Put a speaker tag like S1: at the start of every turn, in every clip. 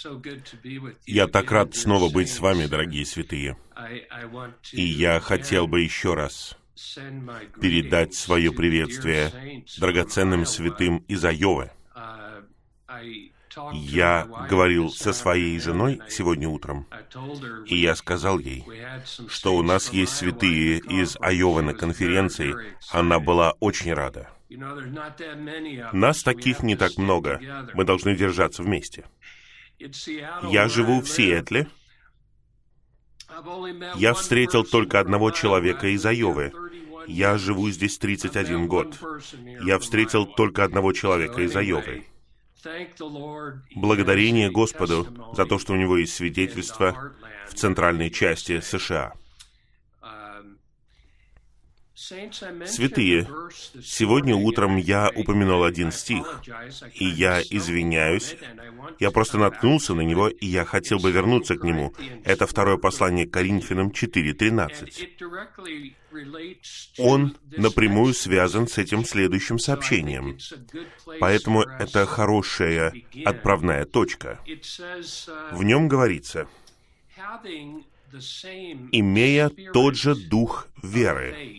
S1: Я так рад снова быть с вами, дорогие святые. И я хотел бы еще раз передать свое приветствие драгоценным святым из Айовы. Я говорил со своей женой сегодня утром, и я сказал ей, что у нас есть святые из Айовы на конференции. Она была очень рада. Нас таких не так много. Мы должны держаться вместе. Я живу в Сиэтле. Я встретил только одного человека из Айовы. Я живу здесь 31 год. Я встретил только одного человека из Айовы. Благодарение Господу за то, что у него есть свидетельство в центральной части США. Святые, сегодня утром я упомянул один стих, и я извиняюсь, я просто наткнулся на него, и я хотел бы вернуться к нему. Это второе послание к Коринфянам 4:13. Он напрямую связан с этим следующим сообщением, поэтому это хорошая отправная точка. В нем говорится: «Имея тот же дух веры,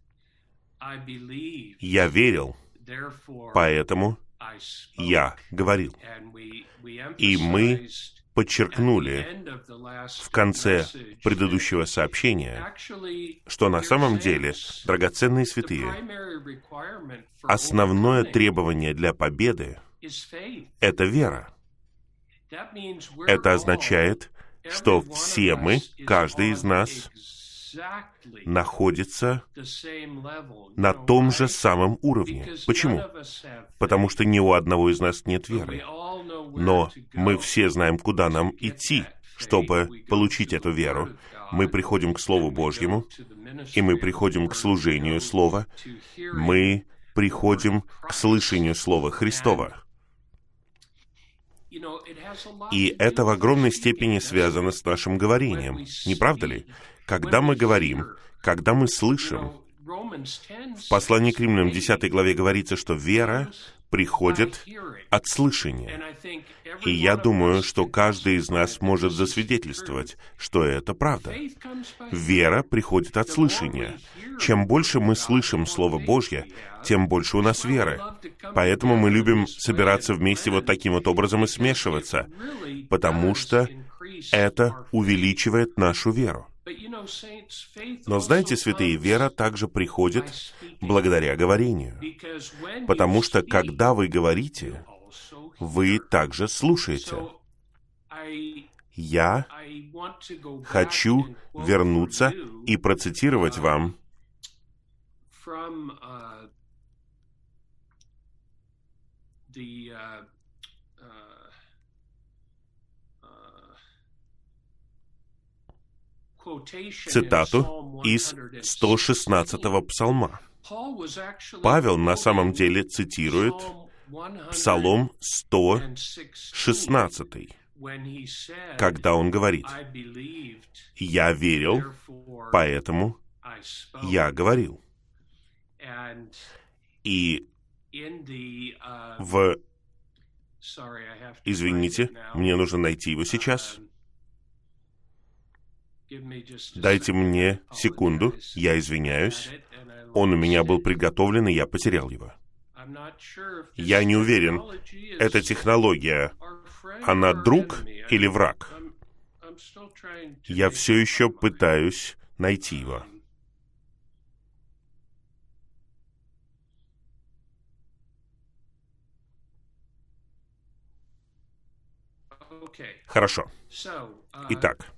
S1: я верил, поэтому я говорил». И мы подчеркнули в конце предыдущего сообщения, что на самом деле, драгоценные святые, основное требование для победы — это вера. Это означает, что все мы, каждый из нас, находится на том же самом уровне. Почему? Потому что ни у одного из нас нет веры. Но мы все знаем, куда нам идти, чтобы получить эту веру. Мы приходим к Слову Божьему, и мы приходим к служению Слова, мы приходим к слышанию Слова Христова. И это в огромной степени связано с нашим говорением, не правда ли? Когда мы говорим, когда мы слышим, в послании к Римлянам 10 главе говорится, что вера приходит от слышания. И я думаю, что каждый из нас может засвидетельствовать, что это правда. Вера приходит от слышания. Чем больше мы слышим Слово Божье, тем больше у нас веры. Поэтому мы любим собираться вместе вот таким вот образом и смешиваться, потому что это увеличивает нашу веру. Но знаете, святые, вера также приходит благодаря говорению. Потому что, когда вы говорите, вы также слушаете. Я хочу вернуться и процитировать вам цитату из 116-го псалма. Павел на самом деле цитирует Псалом 116, когда он говорит: «Я верил, поэтому я говорил». И Извините, мне нужно найти его сейчас. Дайте мне секунду, я извиняюсь. Он у меня был приготовлен, и я потерял его. Я не уверен, эта технология, она друг или враг? Я все еще пытаюсь найти его. Хорошо. Итак,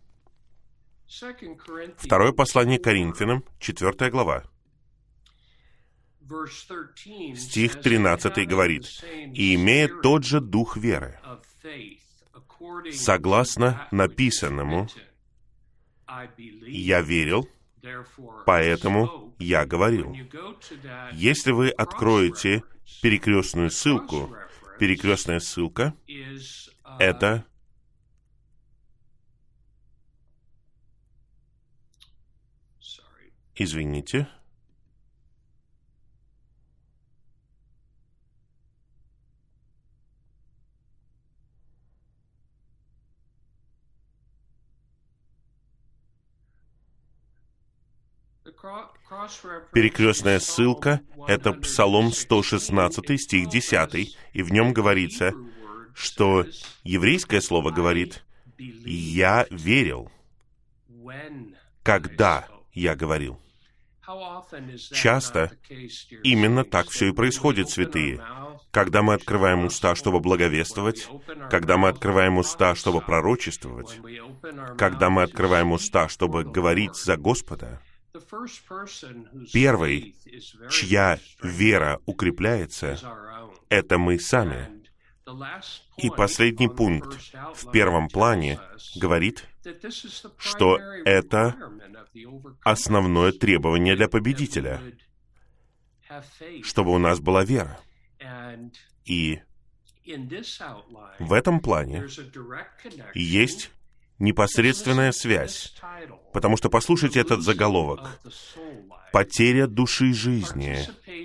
S1: второе послание Коринфянам, 4 глава. Стих 13 говорит: «И имея тот же дух веры, согласно написанному, я верил, поэтому я говорил». Если вы откроете перекрестную ссылку, перекрестная ссылка — это извините. Перекрестная ссылка — это Псалом 116, стих 10, и в нем говорится, что еврейское слово говорит: «Я верил, когда я говорил». Часто именно так все и происходит, святые. Когда мы открываем уста, чтобы благовествовать, когда мы открываем уста, чтобы пророчествовать, когда мы открываем уста, чтобы говорить за Господа, первый, чья вера укрепляется, это мы сами. И последний пункт в первом плане говорит, что это основное требование для победителя, чтобы у нас была вера. И в этом плане есть непосредственная связь, потому что послушайте этот заголовок: «Потеря души жизни,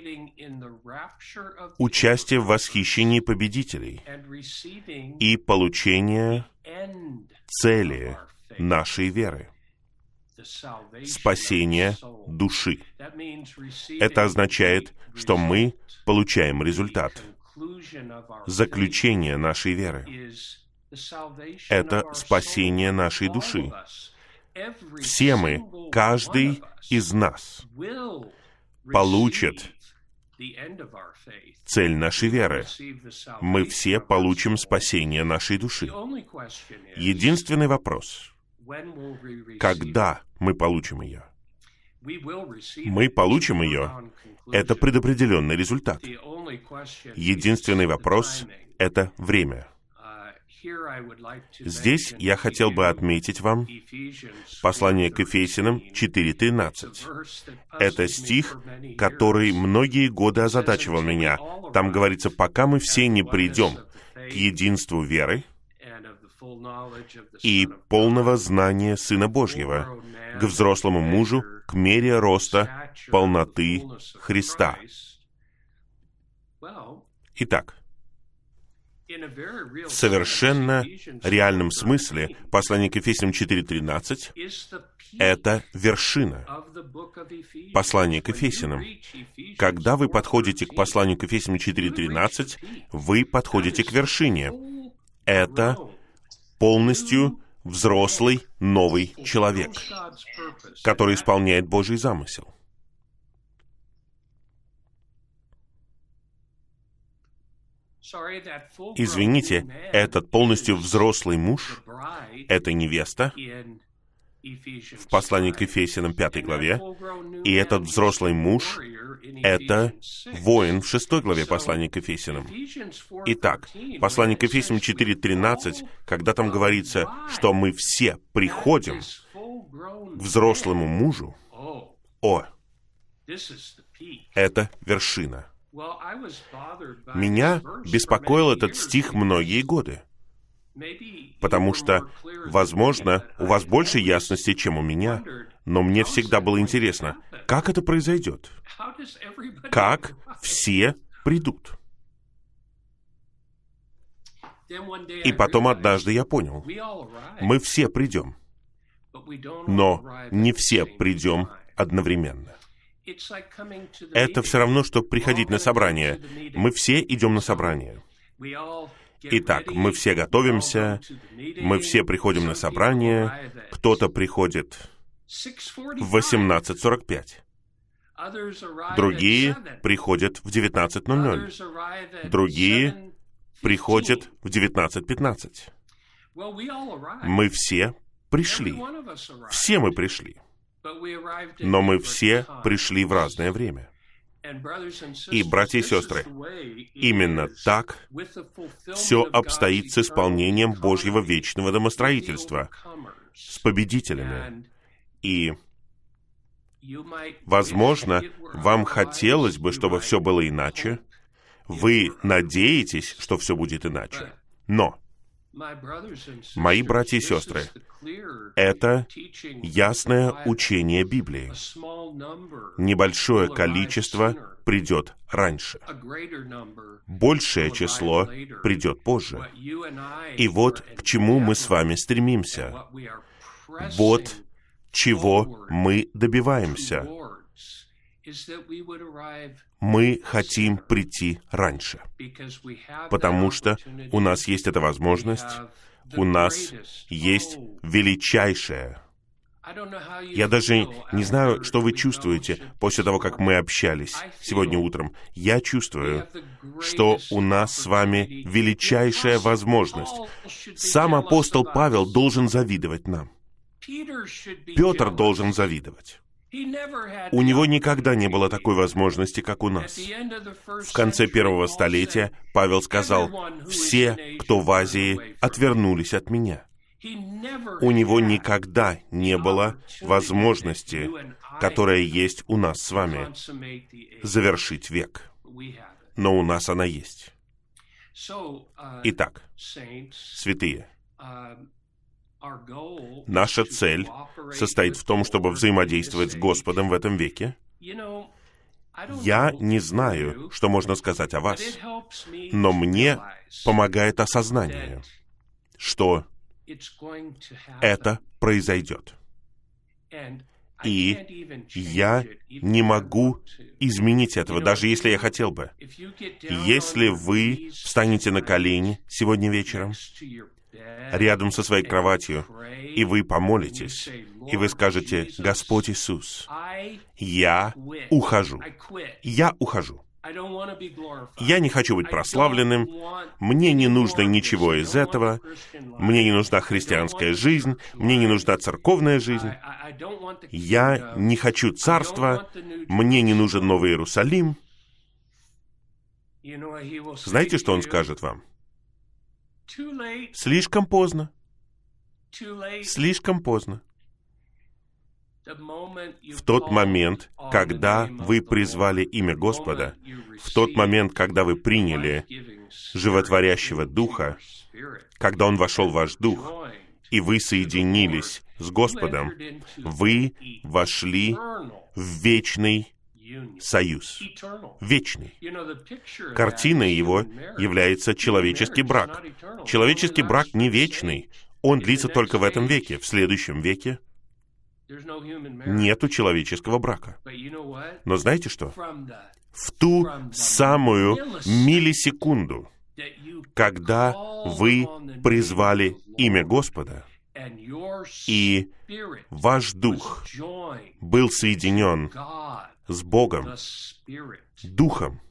S1: участие в восхищении победителей и получение цели нашей веры, спасение души». Это означает, что мы получаем результат. Заключение нашей веры — это спасение нашей души. Все мы, каждый из нас, получит цель нашей веры. Мы все получим спасение нашей души. Единственный вопрос — когда мы получим ее? Мы получим ее. Это предопределенный результат. Единственный вопрос — это время. Здесь я хотел бы отметить вам послание к Ефесянам 4:13. Это стих, который многие годы озадачивал меня. Там говорится: «Пока мы все не придем к единству веры и полного знания Сына Божьего, к взрослому мужу, к мере роста полноты Христа». Итак, в совершенно реальном смысле послание к Ефесянам 4:13 — это вершина. Послание к Ефесянам. Когда вы подходите к посланию к Ефесянам 4:13, вы подходите к вершине. Это полностью взрослый новый человек, который исполняет Божий замысел. Извините, этот полностью взрослый муж, это невеста в послании к Ефесянам 5 главе, и этот взрослый муж — это воин в 6 главе послания к Ефесянам. Итак, послание к Ефесянам 4:13, когда там говорится, что мы все приходим к взрослому мужу, это вершина. Меня беспокоил этот стих многие годы, потому что, возможно, у вас больше ясности, чем у меня, но мне всегда было интересно, как это произойдет? Как все придут? И потом однажды я понял, мы все придем, но не все придем одновременно. Это все равно, что приходить на собрание. Мы все идем на собрание. Итак, мы все готовимся, мы все приходим на собрание, кто-то приходит в 18:45, другие приходят в 19:00, другие приходят в 19:15. Мы все пришли. Все мы пришли. Но мы все пришли в разное время. И, братья и сестры, именно так все обстоит с исполнением Божьего вечного домостроительства, с победителями. И, возможно, вам хотелось бы, чтобы все было иначе. Вы надеетесь, что все будет иначе. Но, мои братья и сестры, это ясное учение Библии. Небольшое количество придет раньше. Большее число придет позже. И вот к чему мы с вами стремимся. Вот чего мы добиваемся. Мы хотим прийти раньше, потому что у нас есть эта возможность, у нас есть величайшая. Я даже не знаю, что вы чувствуете после того, как мы общались сегодня утром. Я чувствую, что у нас с вами величайшая возможность. Сам апостол Павел должен завидовать нам. Петр должен завидовать. У него никогда не было такой возможности, как у нас. В конце первого столетия Павел сказал: «Все, кто в Азии, отвернулись от меня». У него никогда не было возможности, которая есть у нас с вами, завершить век. Но у нас она есть. Итак, святые, наша цель состоит в том, чтобы взаимодействовать с Господом в этом веке. Я не знаю, что можно сказать о вас, но мне помогает осознание, что это произойдет. И я не могу изменить этого, даже если я хотел бы. Если вы встанете на колени сегодня вечером, рядом со своей кроватью, и вы помолитесь, и вы скажете: «Господь Иисус, я ухожу. Я ухожу. Я не хочу быть прославленным, мне не нужно ничего из этого, мне не нужна христианская жизнь, мне не нужна церковная жизнь, я не хочу царства, мне не нужен Новый Иерусалим». Знаете, что он скажет вам? Слишком поздно. Слишком поздно. В тот момент, когда вы призвали имя Господа, в тот момент, когда вы приняли животворящего Духа, когда Он вошел в ваш дух, и вы соединились с Господом, вы вошли в вечный союз. Вечный. Картиной его является человеческий брак. Человеческий брак не вечный. Он длится только в этом веке. В следующем веке нету человеческого брака. Но знаете что? В ту самую миллисекунду, когда вы призвали имя Господа, и ваш дух был соединен с Богом, Духом,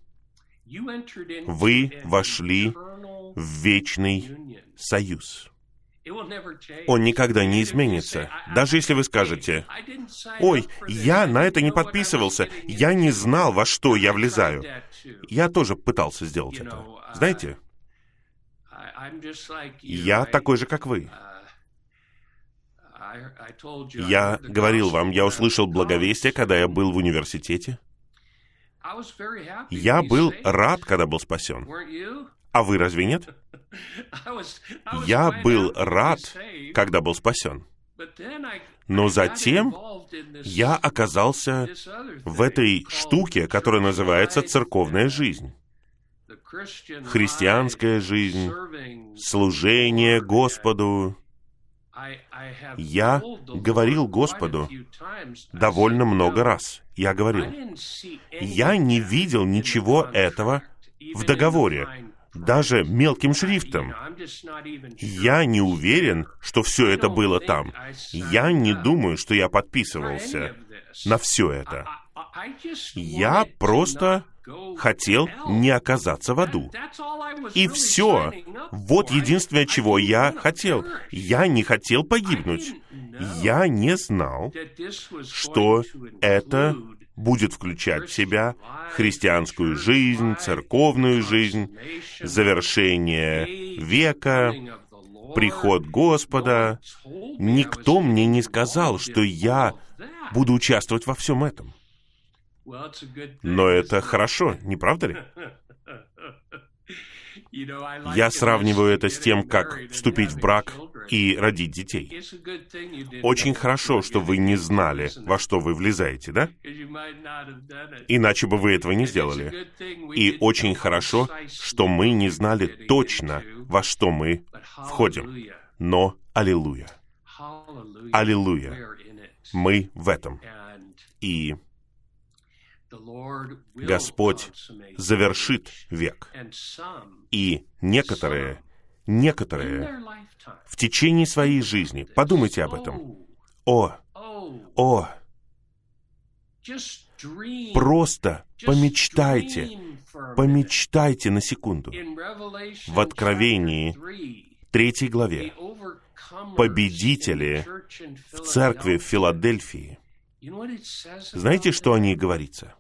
S1: вы вошли в вечный союз. Он никогда не изменится. Даже если вы скажете: «Ой, я на это не подписывался, я не знал, во что я влезаю». Я тоже пытался сделать это. Знаете, я такой же, как вы. Я говорил вам, я услышал благовестие, когда я был в университете. Я был рад, когда был спасен. А вы разве нет? Я был рад, когда был спасен. Но затем я оказался в этой штуке, которая называется церковная жизнь. Христианская жизнь, служение Господу. Я говорил Господу довольно много раз. Я говорил: я не видел ничего этого в договоре, даже мелким шрифтом. Я не уверен, что все это было там. Я не думаю, что я подписывался на все это. Я просто хотел не оказаться в аду. И все. Вот единственное, чего я хотел. Я не хотел погибнуть. Я не знал, что это будет включать в себя христианскую жизнь, церковную жизнь, завершение века, приход Господа. Никто мне не сказал, что я буду участвовать во всем этом. Но это хорошо, не правда ли? Я сравниваю это с тем, как вступить в брак и родить детей. Очень хорошо, что вы не знали, во что вы влезаете, да? Иначе бы вы этого не сделали. И очень хорошо, что мы не знали точно, во что мы входим. Но аллилуйя! Аллилуйя! Мы в этом. И Господь завершит век. И некоторые в течение своей жизни, подумайте об этом, просто помечтайте на секунду. В Откровении 3 главе победители в церкви в Филадельфии, знаете, что о них говорится?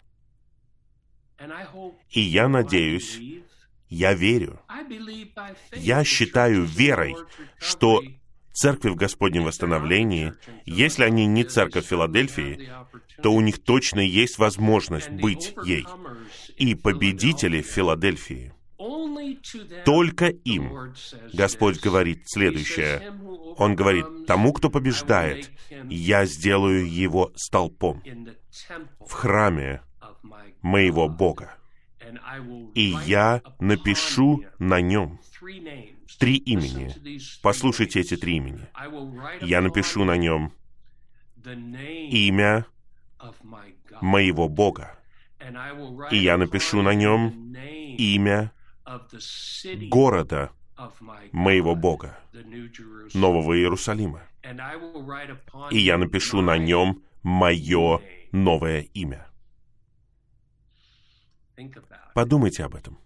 S1: И я надеюсь, я верю, я считаю верой, что церкви в Господнем восстановлении, если они не церковь Филадельфии, то у них точно есть возможность быть ей. И победители в Филадельфии, только им Господь говорит следующее. Он говорит, тому, кто побеждает, я сделаю его столпом в храме моего Бога. И я напишу на нем 3 имени. Послушайте эти 3 имени. Я напишу на нем имя моего Бога. И я напишу на нем имя города моего Бога, Нового Иерусалима. И я напишу на нем мое новое имя. Подумайте об этом.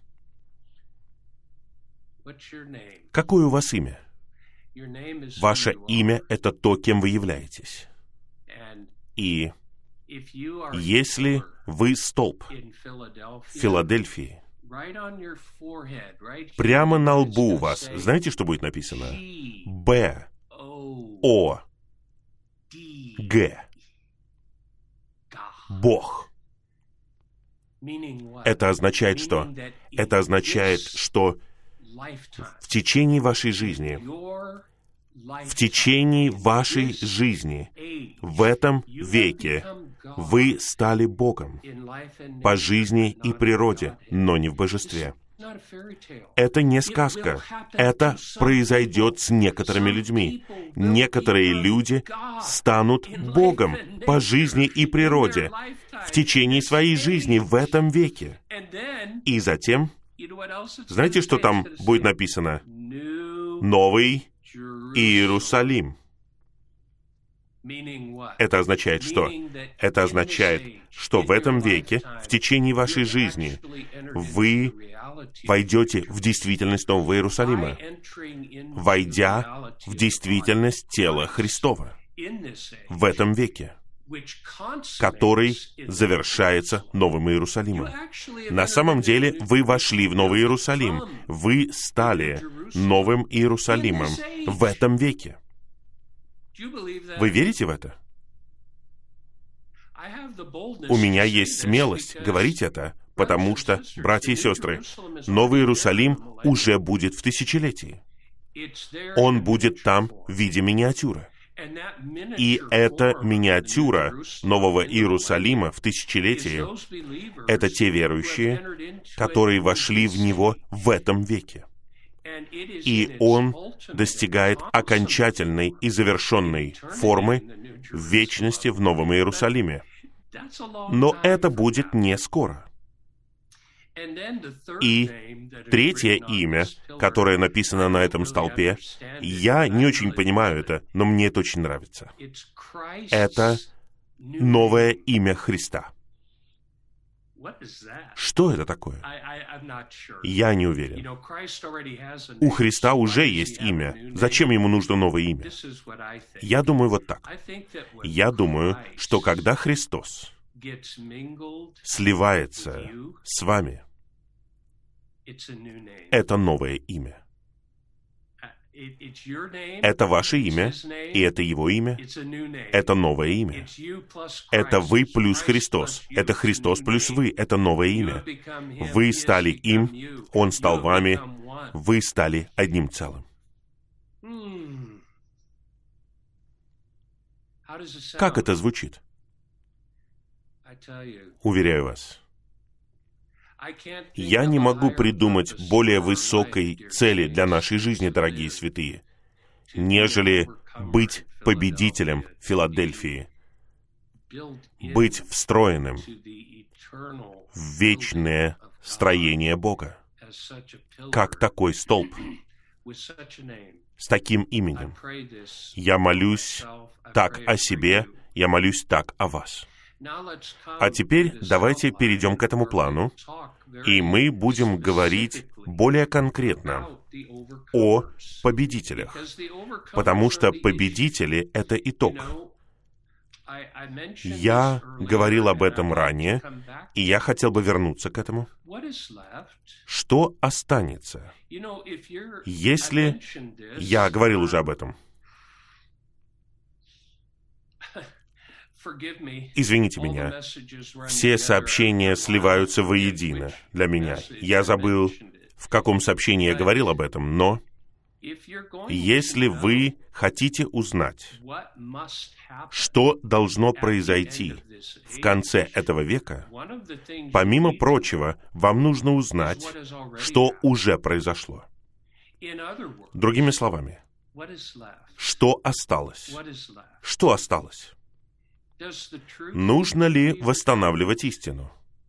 S1: Какое у вас имя? Ваше имя — это то, кем вы являетесь. И если вы столб в Филадельфии, прямо на лбу у вас, знаете, что будет написано? Б, О, Г. Бог. Это означает что? Это означает, что в течение вашей жизни, в этом веке, вы стали Богом по жизни и природе, но не в божестве. Это не сказка. Это произойдет с некоторыми людьми. Некоторые люди станут Богом по жизни и природе в течение своей жизни в этом веке. И затем, знаете, что там будет написано? Новый Иерусалим. Это означает что? Это означает, что в этом веке, в течение вашей жизни, вы войдете в действительность Нового Иерусалима, войдя в действительность тела Христова в этом веке, который завершается Новым Иерусалимом. На самом деле, вы вошли в Новый Иерусалим. Вы стали Новым Иерусалимом в этом веке. Вы верите в это? У меня есть смелость говорить это, потому что, братья и сестры, Новый Иерусалим уже будет в тысячелетии. Он будет там в виде миниатюры. И эта миниатюра Нового Иерусалима в тысячелетии — это те верующие, которые вошли в него в этом веке. И он достигает окончательной и завершенной формы в вечности в Новом Иерусалиме. Но это будет не скоро. И 3 имя, которое написано на этом столпе, я не очень понимаю это, но мне это очень нравится. Это новое имя Христа. Что это такое? Я не уверен. У Христа уже есть имя. Зачем ему нужно новое имя? Я думаю вот так. Я думаю, что когда Христос сливается с вами, это новое имя. Это ваше имя, и это Его имя. Это новое имя. Это вы плюс Христос. Это Христос плюс вы. Это новое имя. Вы стали им, Он стал вами. Вы стали одним целым. Как это звучит? Уверяю вас, я не могу придумать более высокой цели для нашей жизни, дорогие святые, нежели быть победителем Филадельфии. быть встроенным в вечное строение Бога, как такой столб с таким именем. Я молюсь так о себе, я молюсь так о вас. А теперь давайте перейдем к этому плану, и мы будем говорить более конкретно о победителях, потому что победители — это итог. Я говорил об этом ранее, и я хотел бы вернуться к этому. Что останется, если... Я говорил уже об этом. Извините меня, все сообщения сливаются воедино для меня. Я забыл, в каком сообщении я говорил об этом, но если вы хотите узнать, что должно произойти в конце этого века, помимо прочего, вам нужно узнать, что уже произошло. Другими словами, что осталось? Что осталось? Нужно ли восстанавливать истину?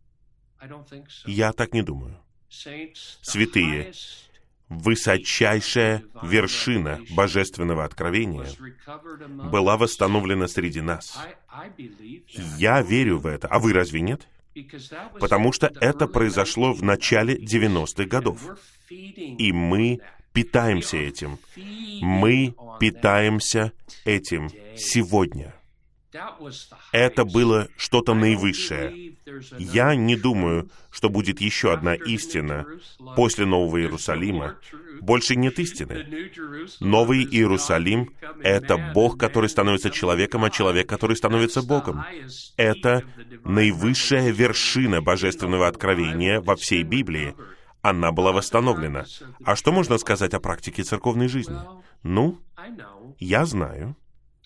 S1: Я так не думаю. Святые, высочайшая вершина божественного откровения была восстановлена среди нас. Я верю в это. А вы разве нет? Потому что это произошло в начале 90-х годов. И мы питаемся этим. Мы питаемся этим сегодня. Это было что-то наивысшее. Я не думаю, что будет еще одна истина после Нового Иерусалима. Больше нет истины. Новый Иерусалим — это Бог, который становится человеком, а человек, который становится Богом. Это наивысшая вершина божественного откровения во всей Библии. Она была восстановлена. А что можно сказать о практике церковной жизни? Ну, я знаю.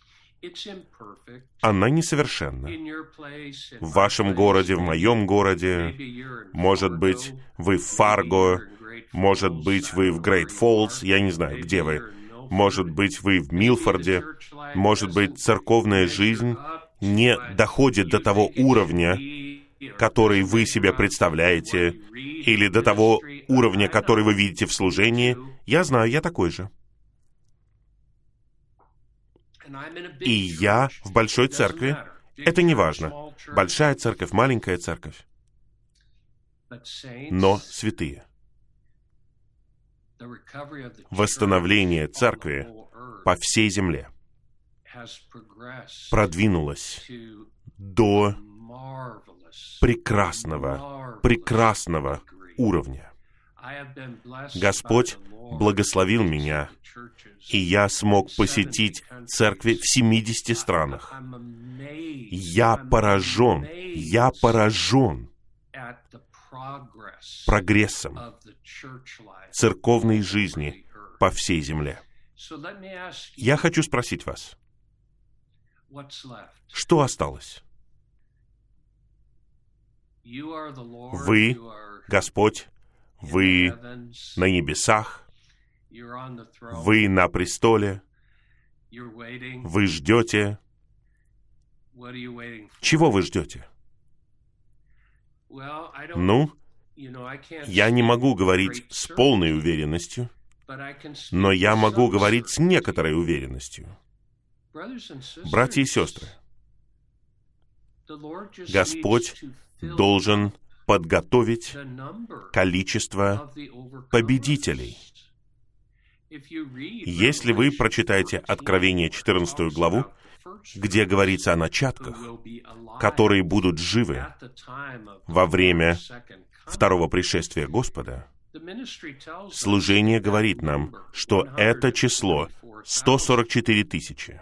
S1: Она несовершенна. В вашем городе, в моем городе, может быть, вы в Фарго, может быть, вы в Грейт Фоллс, я не знаю, где вы, может быть, вы в Милфорде, может быть, церковная жизнь не доходит до того уровня, который вы себе представляете, или до того уровня, который вы видите в служении. Я знаю, я такой же. И я в большой церкви. Это не важно. Большая церковь, маленькая церковь. Но святые. Восстановление церкви по всей земле продвинулось до прекрасного уровня. Господь благословил меня, и я смог посетить церкви в 70 странах. Я поражен прогрессом церковной жизни по всей земле. Я хочу спросить вас, что осталось? Вы, Господь, вы на небесах, вы на престоле, вы ждете. Чего вы ждете? Ну, я не могу говорить с полной уверенностью, но я могу говорить с некоторой уверенностью. Братья и сестры, Господь должен подготовить количество победителей. Если вы прочитаете Откровение 14 главу, где говорится о начатках, которые будут живы во время второго пришествия Господа, служение говорит нам, что это число 144 тысячи.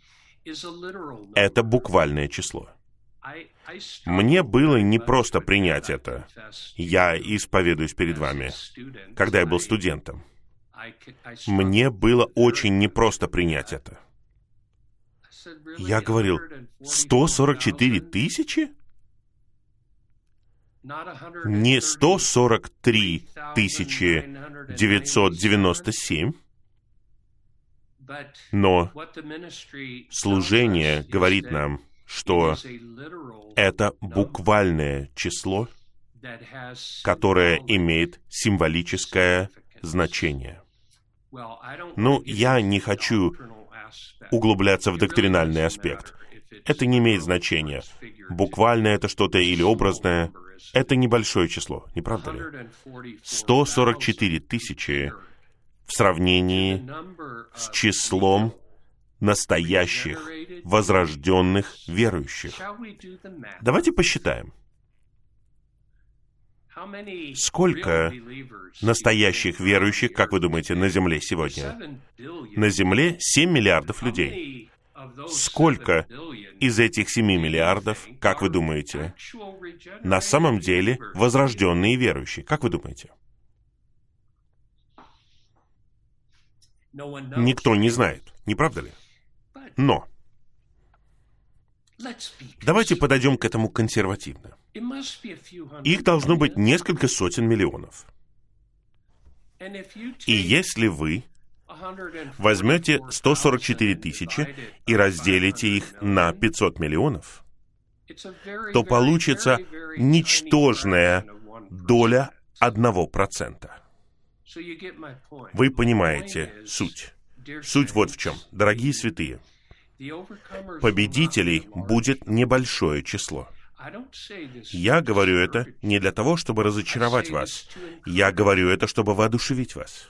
S1: Это буквальное число. Мне было непросто принять это. Я исповедуюсь перед вами, когда я был студентом. Мне было очень непросто принять это. Я говорил, 144 тысячи? Не 143 997, но служение говорит нам, что это буквальное число, которое имеет символическое значение. Ну, я не хочу углубляться в доктринальный аспект. Это не имеет значения. Буквально это что-то или образное. Это небольшое число, не правда ли? 144 тысячи в сравнении с числом настоящих, возрожденных верующих. Давайте посчитаем. Сколько настоящих верующих, как вы думаете, на Земле сегодня? На Земле 7 миллиардов людей. Сколько из этих 7 миллиардов, как вы думаете, на самом деле возрожденные верующие? Как вы думаете? Никто не знает, не правда ли? Но давайте подойдем к этому консервативно. Их должно быть несколько сотен миллионов. И если вы возьмете 144 тысячи и разделите их на 500 миллионов, то получится ничтожная доля 1%. Вы понимаете суть. Суть вот в чем. Дорогие святые, победителей будет небольшое число. Я говорю это не для того, чтобы разочаровать вас. Я говорю это, чтобы воодушевить вас.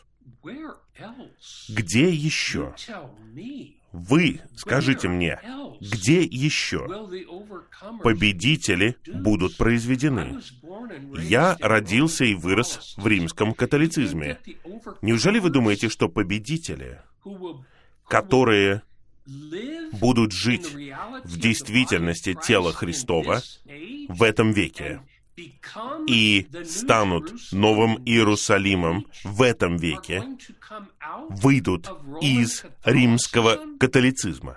S1: Где еще? Вы скажите мне, где еще победители будут произведены? Я родился и вырос в римском католицизме. Неужели вы думаете, что победители, которые будут жить в действительности тела Христова в этом веке и станут Новым Иерусалимом в этом веке, выйдут из римского католицизма?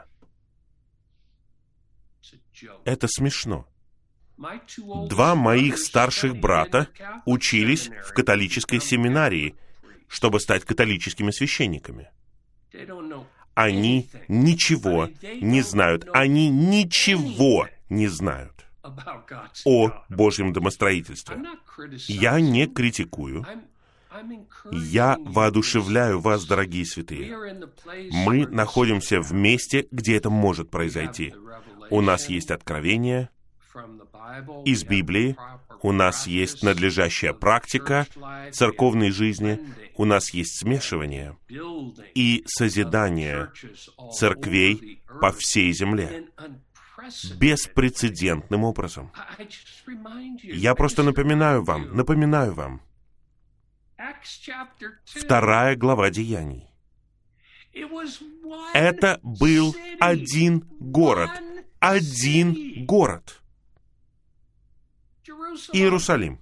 S1: Это смешно. 2 моих старших брата учились в католической семинарии, чтобы стать католическими священниками. Они ничего не знают. Они ничего не знают о Божьем домостроительстве. Я не критикую. Я воодушевляю вас, дорогие святые. Мы находимся в месте, где это может произойти. У нас есть откровение из Библии, у нас есть надлежащая практика церковной жизни, у нас есть смешивание и созидание церквей по всей земле беспрецедентным образом. Я просто напоминаю вам. 2 глава Деяний. Это был один город. Иерусалим.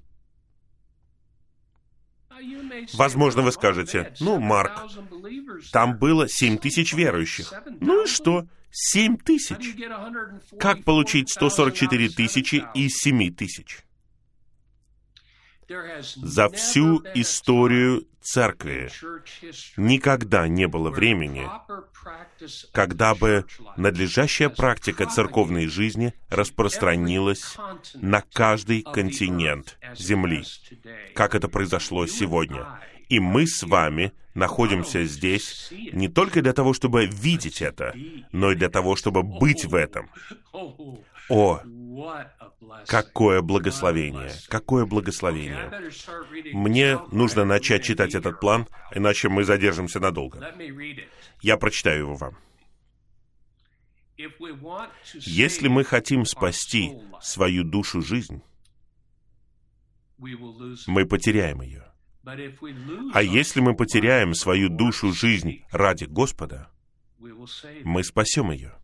S1: Возможно, вы скажете, Марк, там было 7 тысяч верующих. Ну и что? 7 тысяч. Как получить 144 тысячи из 7 тысяч? За всю историю церкви никогда не было времени, когда бы надлежащая практика церковной жизни распространилась на каждый континент Земли, как это произошло сегодня. И мы с вами находимся здесь не только для того, чтобы видеть это, но и для того, чтобы быть в этом. О, какое благословение! Какое благословение! Мне нужно начать читать этот план, иначе мы задержимся надолго. Я прочитаю его вам. Если мы хотим спасти свою душу-жизнь, мы потеряем ее. А если мы потеряем свою душу-жизнь ради Господа, мы спасем ее.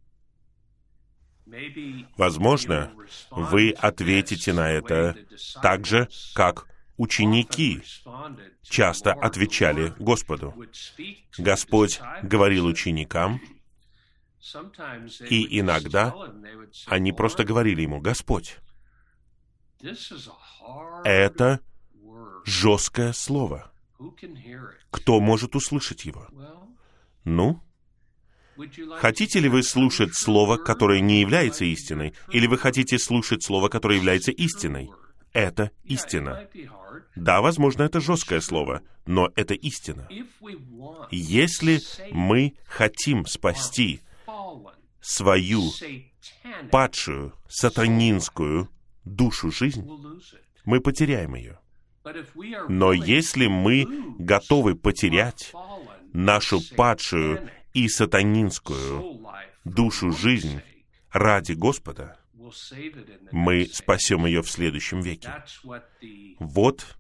S1: Возможно, вы ответите на это так же, как ученики часто отвечали Господу. Господь говорил ученикам, и иногда они просто говорили ему: «Господь, это жесткое слово. Кто может услышать его?» Ну, Хотите ли вы слушать слово, которое не является истиной, или вы хотите слушать слово, которое является истиной? Это истина. Да, возможно, это жесткое слово, но это истина. Если мы хотим спасти свою падшую, сатанинскую душу жизнь, мы потеряем ее. Но если мы готовы потерять нашу падшую и сатанинскую душу жизнь ради Господа, мы спасем ее в следующем веке. Вот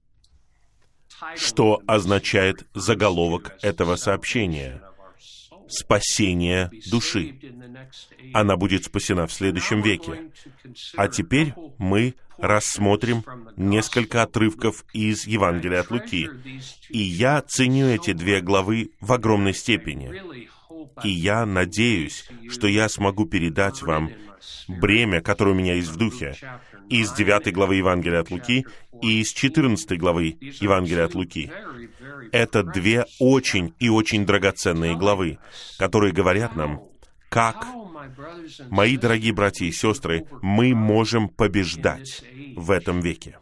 S1: что означает заголовок этого сообщения. Спасение души. Она будет спасена в следующем веке. А теперь мы рассмотрим несколько отрывков из Евангелия от Луки. И я ценю эти две главы в огромной степени. И я надеюсь, что я смогу передать вам бремя, которое у меня есть в духе, из 9 главы Евангелия от Луки и из 14 главы Евангелия от Луки. Это две очень и очень драгоценные главы, которые говорят нам, как, мои дорогие братья и сестры, мы можем побеждать в этом веке.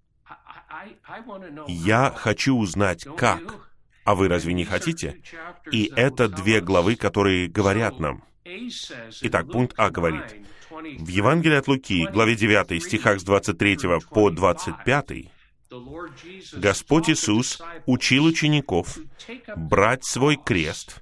S1: Я хочу узнать, как. А вы разве не хотите? И это две главы, которые говорят нам. Итак, пункт А говорит, в Евангелии от Луки, главе 9, стихах с 23 по 25, Господь Иисус учил учеников брать свой крест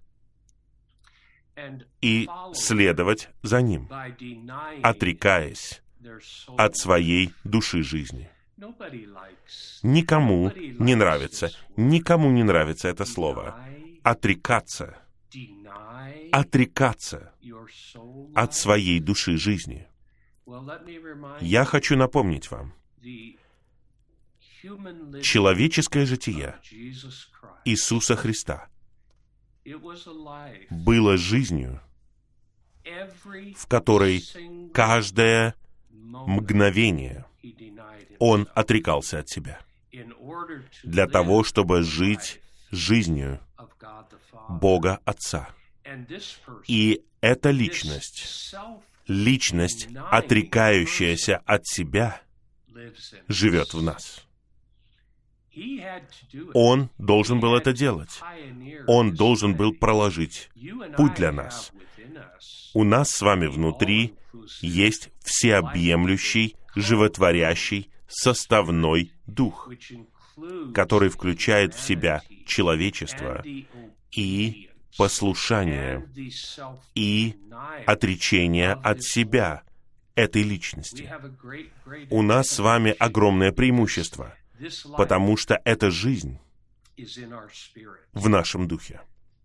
S1: и следовать за Ним, отрекаясь от своей души жизни. Никому не нравится это слово. Отрекаться. Отрекаться от своей души жизни. Я хочу напомнить вам, человеческое житие Иисуса Христа было жизнью, в которой каждое мгновение Он отрекался от себя для того, чтобы жить жизнью Бога Отца. И эта личность, отрекающаяся от себя, живет в нас. Он должен был это делать. Он должен был проложить путь для нас. У нас с вами внутри есть всеобъемлющий, животворящий, составной дух, который включает в себя человечество и послушание, и отречение от себя этой личности. У нас с вами огромное преимущество, потому что эта жизнь в нашем духе.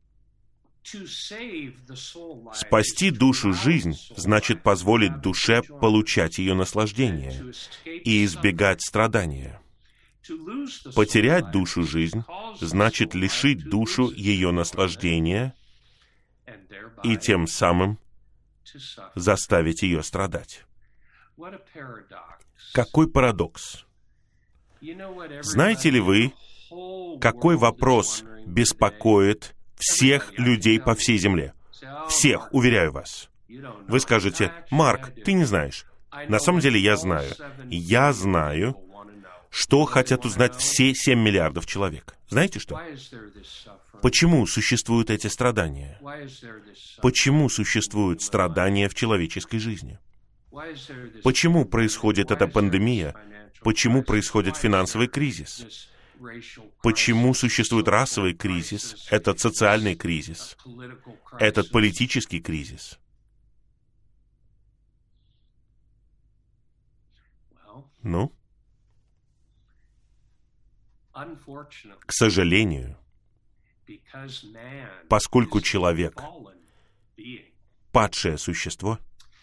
S1: Спасти душу жизнь значит позволить душе получать ее наслаждение и избегать страдания. Потерять душу жизнь значит лишить душу ее наслаждения и тем самым заставить ее страдать. Какой парадокс! Знаете ли вы, какой вопрос беспокоит всех людей по всей земле? Всех, уверяю вас. Вы скажете, Марк, ты не знаешь. На самом деле я знаю. Я знаю, что хотят узнать все 7 миллиардов человек. Знаете что? Почему существуют эти страдания? Почему существуют страдания в человеческой жизни? Почему происходит эта пандемия? Почему происходит финансовый кризис? Почему существует расовый кризис, этот социальный кризис, этот политический кризис? Ну? К сожалению, поскольку человек — падшее существо,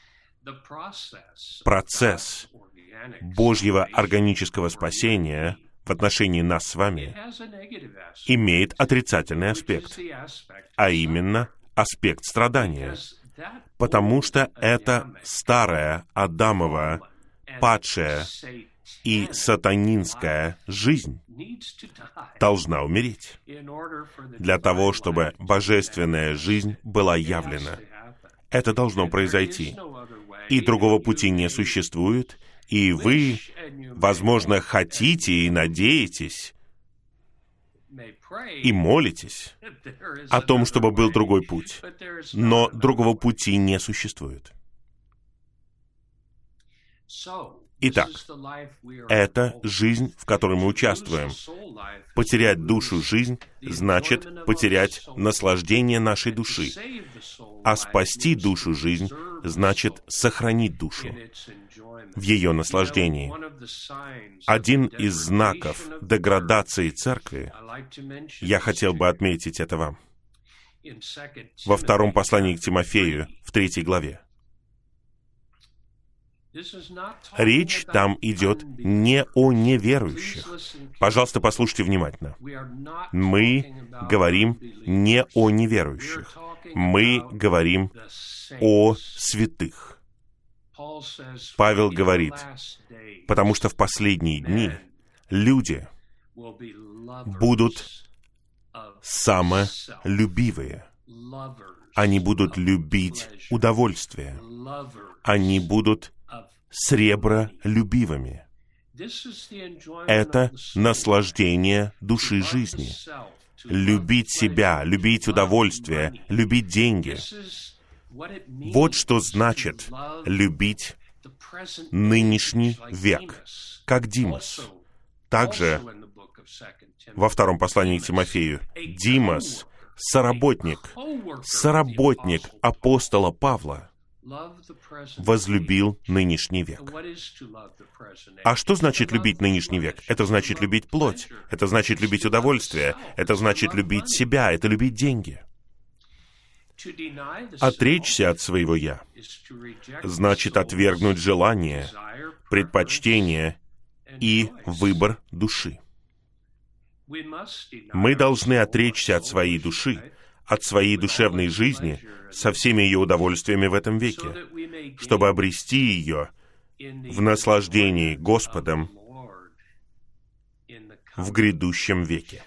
S1: процесс Божьего органического спасения в отношении нас с вами имеет отрицательный аспект, а именно аспект страдания, потому что это старая Адамова, падшая И сатанинская жизнь должна умереть для того, чтобы божественная жизнь была явлена. Это должно произойти. И другого пути не существует, и вы, возможно, хотите и надеетесь, и молитесь о том, чтобы был другой путь. Но другого пути не существует. Итак, это жизнь, в которой мы участвуем. Потерять душу жизнь значит потерять наслаждение нашей души. А спасти душу жизнь значит сохранить душу в ее наслаждении. Один из знаков деградации церкви, я хотел бы отметить это вам, во втором послании к Тимофею, в 3 главе. Речь там идет не о неверующих. Пожалуйста, послушайте внимательно. Мы говорим не о неверующих. Мы говорим о святых. Павел говорит, потому что в последние дни люди будут самолюбивые. Они будут любить удовольствие. Они будут сребролюбивыми. Это наслаждение души жизни. Любить себя, любить удовольствие, любить деньги. Вот что значит любить нынешний век, как Димас. Также во втором послании к Тимофею Димас, соработник апостола Павла, возлюбил нынешний век. А что значит любить нынешний век? Это значит любить плоть, это значит любить удовольствие, это значит любить себя, это любить деньги. Отречься от своего «я» значит отвергнуть желание, предпочтение и выбор души. Мы должны отречься от своей души, от своей душевной жизни, со всеми ее удовольствиями в этом веке, чтобы обрести ее в наслаждении Господом в грядущем веке.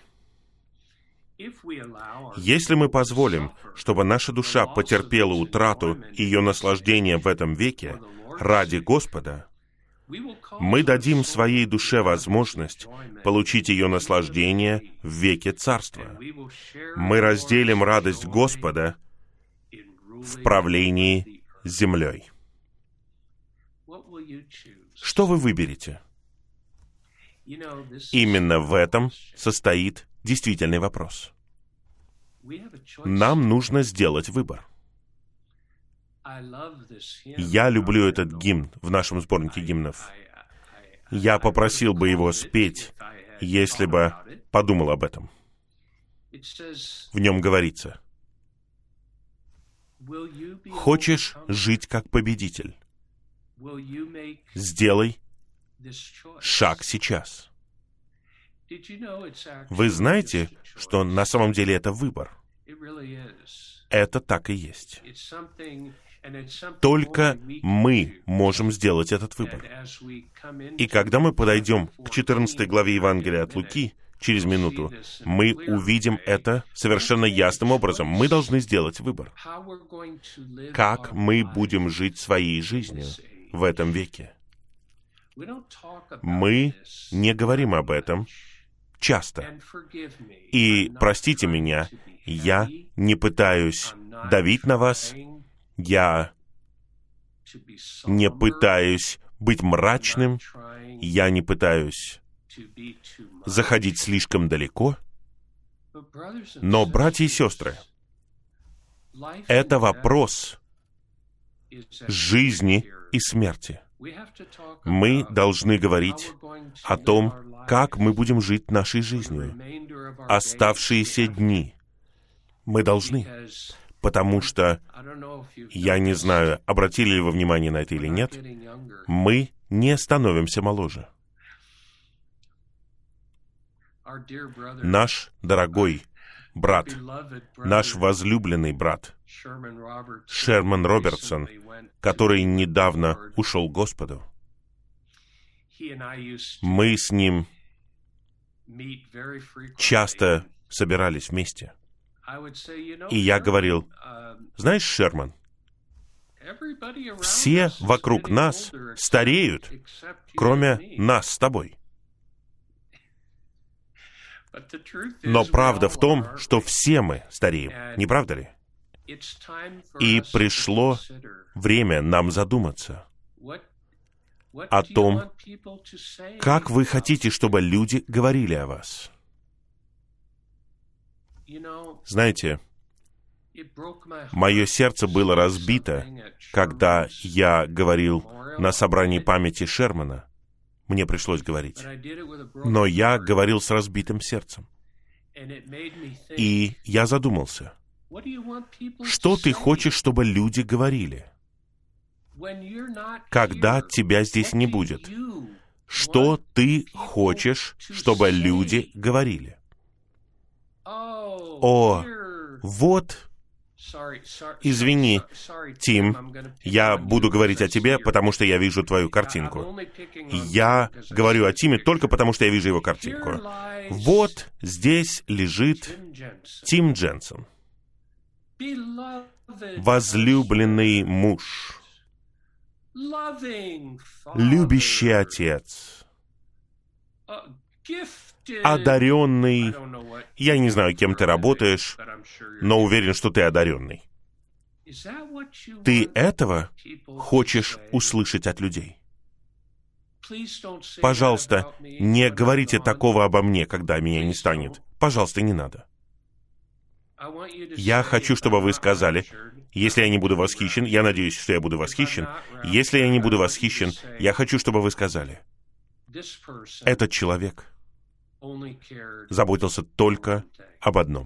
S1: Если мы позволим, чтобы наша душа потерпела утрату ее наслаждения в этом веке ради Господа, мы дадим своей душе возможность получить ее наслаждение в веке Царства. Мы разделим радость Господа в правлении землей. Что вы выберете? Именно в этом состоит действительный вопрос. Нам нужно сделать выбор. Я люблю этот гимн в нашем сборнике гимнов. Я попросил бы его спеть, если бы подумал об этом. В нем говорится: «Хочешь жить как победитель? Сделай шаг сейчас». Вы знаете, что на самом деле это выбор? Это так и есть. Только мы можем сделать этот выбор. И когда мы подойдем к 14 главе Евангелия от Луки, через минуту, мы увидим это совершенно ясным образом. Мы должны сделать выбор. Как мы будем жить своей жизнью в этом веке? Мы не говорим об этом часто. И простите меня, я не пытаюсь давить на вас, я не пытаюсь быть мрачным, я не пытаюсь заходить слишком далеко. Но, братья и сестры, это вопрос жизни и смерти. Мы должны говорить о том, как мы будем жить нашей жизнью. Оставшиеся дни мы должны, потому что, я не знаю, обратили ли вы внимание на это или нет, мы не становимся моложе. Наш дорогой брат, наш возлюбленный брат, Шерман Робертсон, который недавно ушел к Господу, Мы с ним часто собирались вместе. И я говорил: знаешь, Шерман, все вокруг нас стареют, кроме нас с тобой. Но правда в том, что все мы стареем, не правда ли? И пришло время нам задуматься о том, как вы хотите, чтобы люди говорили о вас. Знаете, мое сердце было разбито, когда я говорил на собрании памяти Шермана. Мне пришлось говорить. Но я говорил с разбитым сердцем. И я задумался, что ты хочешь, чтобы люди говорили, когда тебя здесь не будет? Что ты хочешь, чтобы люди говорили? О, вот... Извини, Тим, я буду говорить о тебе, потому что я вижу твою картинку. Я говорю о Тиме только потому, что я вижу его картинку. Вот здесь лежит Тим Дженсон, возлюбленный муж, любящий отец, одаренный. Я не знаю, кем ты работаешь, но уверен, что ты одаренный. Ты этого хочешь услышать от людей? Пожалуйста, не говорите такого обо мне, когда меня не станет. Пожалуйста, не надо. Я хочу, чтобы вы сказали: если я не буду восхищен, я надеюсь, что я буду восхищен. Если я не буду восхищен, я хочу, чтобы вы сказали: этот человек заботился только об одном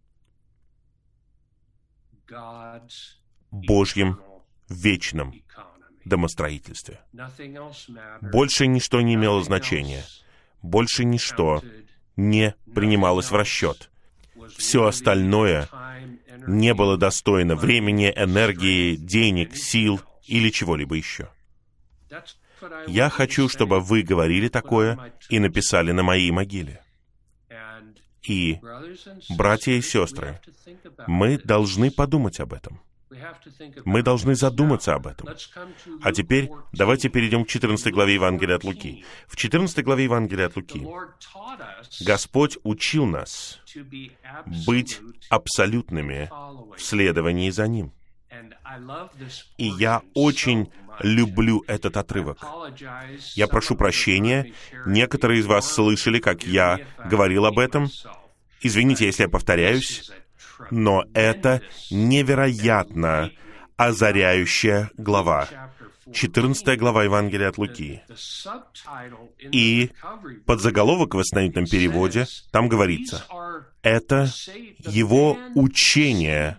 S1: — Божьем вечном домостроительстве. Больше ничто не имело значения. Больше ничто не принималось в расчет. Все остальное не было достойно времени, энергии, денег, сил или чего-либо еще. Я хочу, чтобы вы говорили такое и написали на моей могиле. И, братья и сестры, мы должны подумать об этом. Мы должны задуматься об этом. А теперь давайте перейдем к 14 главе Евангелия от Луки. В 14 главе Евангелия от Луки Господь учил нас быть абсолютными в следовании за Ним. И я очень люблю этот отрывок. Я прошу прощения, некоторые из вас слышали, как я говорил об этом. Извините, если я повторяюсь, но это невероятно озаряющая глава. 14 глава Евангелия от Луки. И подзаголовок в восстановительном переводе, там говорится: это его учение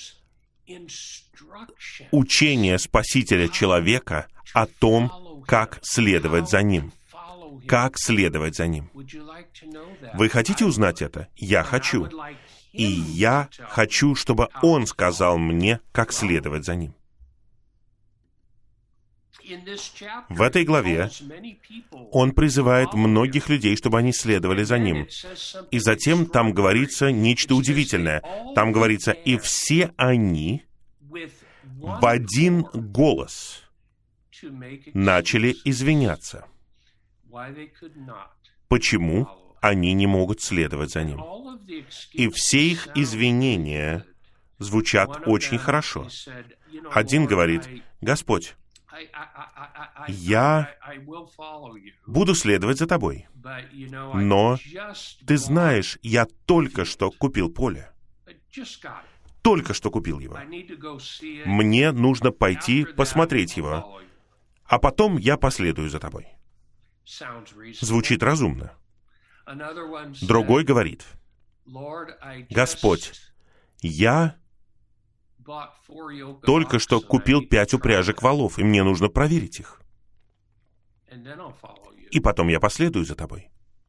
S1: Спасителя человека о том, как следовать за Ним. Как следовать за Ним. Вы хотите узнать это? Я хочу. И я хочу, чтобы Он сказал мне, как следовать за Ним. В этой главе Он призывает многих людей, чтобы они следовали за Ним. И затем там говорится нечто удивительное. Там говорится: и все они в один голос начали извиняться. Почему они не могут следовать за Ним? И все их извинения звучат очень хорошо. Один говорит: Господь, я буду следовать за Тобой, но Ты знаешь, я только что купил поле. Только что купил его. Мне нужно пойти посмотреть его, а потом я последую за Тобой. Звучит разумно. Другой говорит: Господь, я только что купил 5 упряжек волов, и мне нужно проверить их. И потом я последую за Тобой.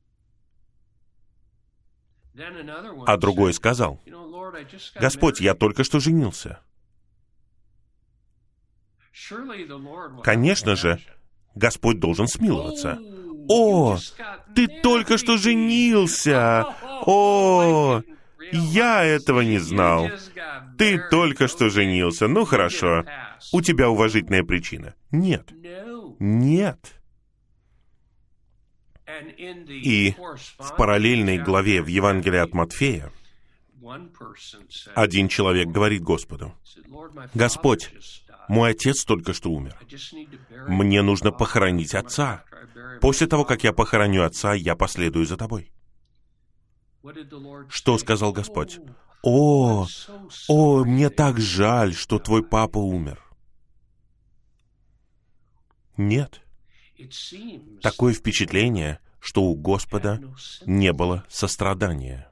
S1: А другой сказал: Господь, я только что женился. Конечно же, Господь должен смиловаться. «О, ты только что женился! О, я этого не знал! Ты только что женился! Ну, хорошо, у тебя уважительная причина». Нет. Нет. И в параллельной главе в Евангелии от Матфея один человек говорит Господу: «Господь, мой отец только что умер. Мне нужно похоронить отца. После того, как я похороню отца, я последую за тобой». Что сказал Господь? «О, мне так жаль, что твой папа умер». Нет. Такое впечатление, что у Господа не было сострадания.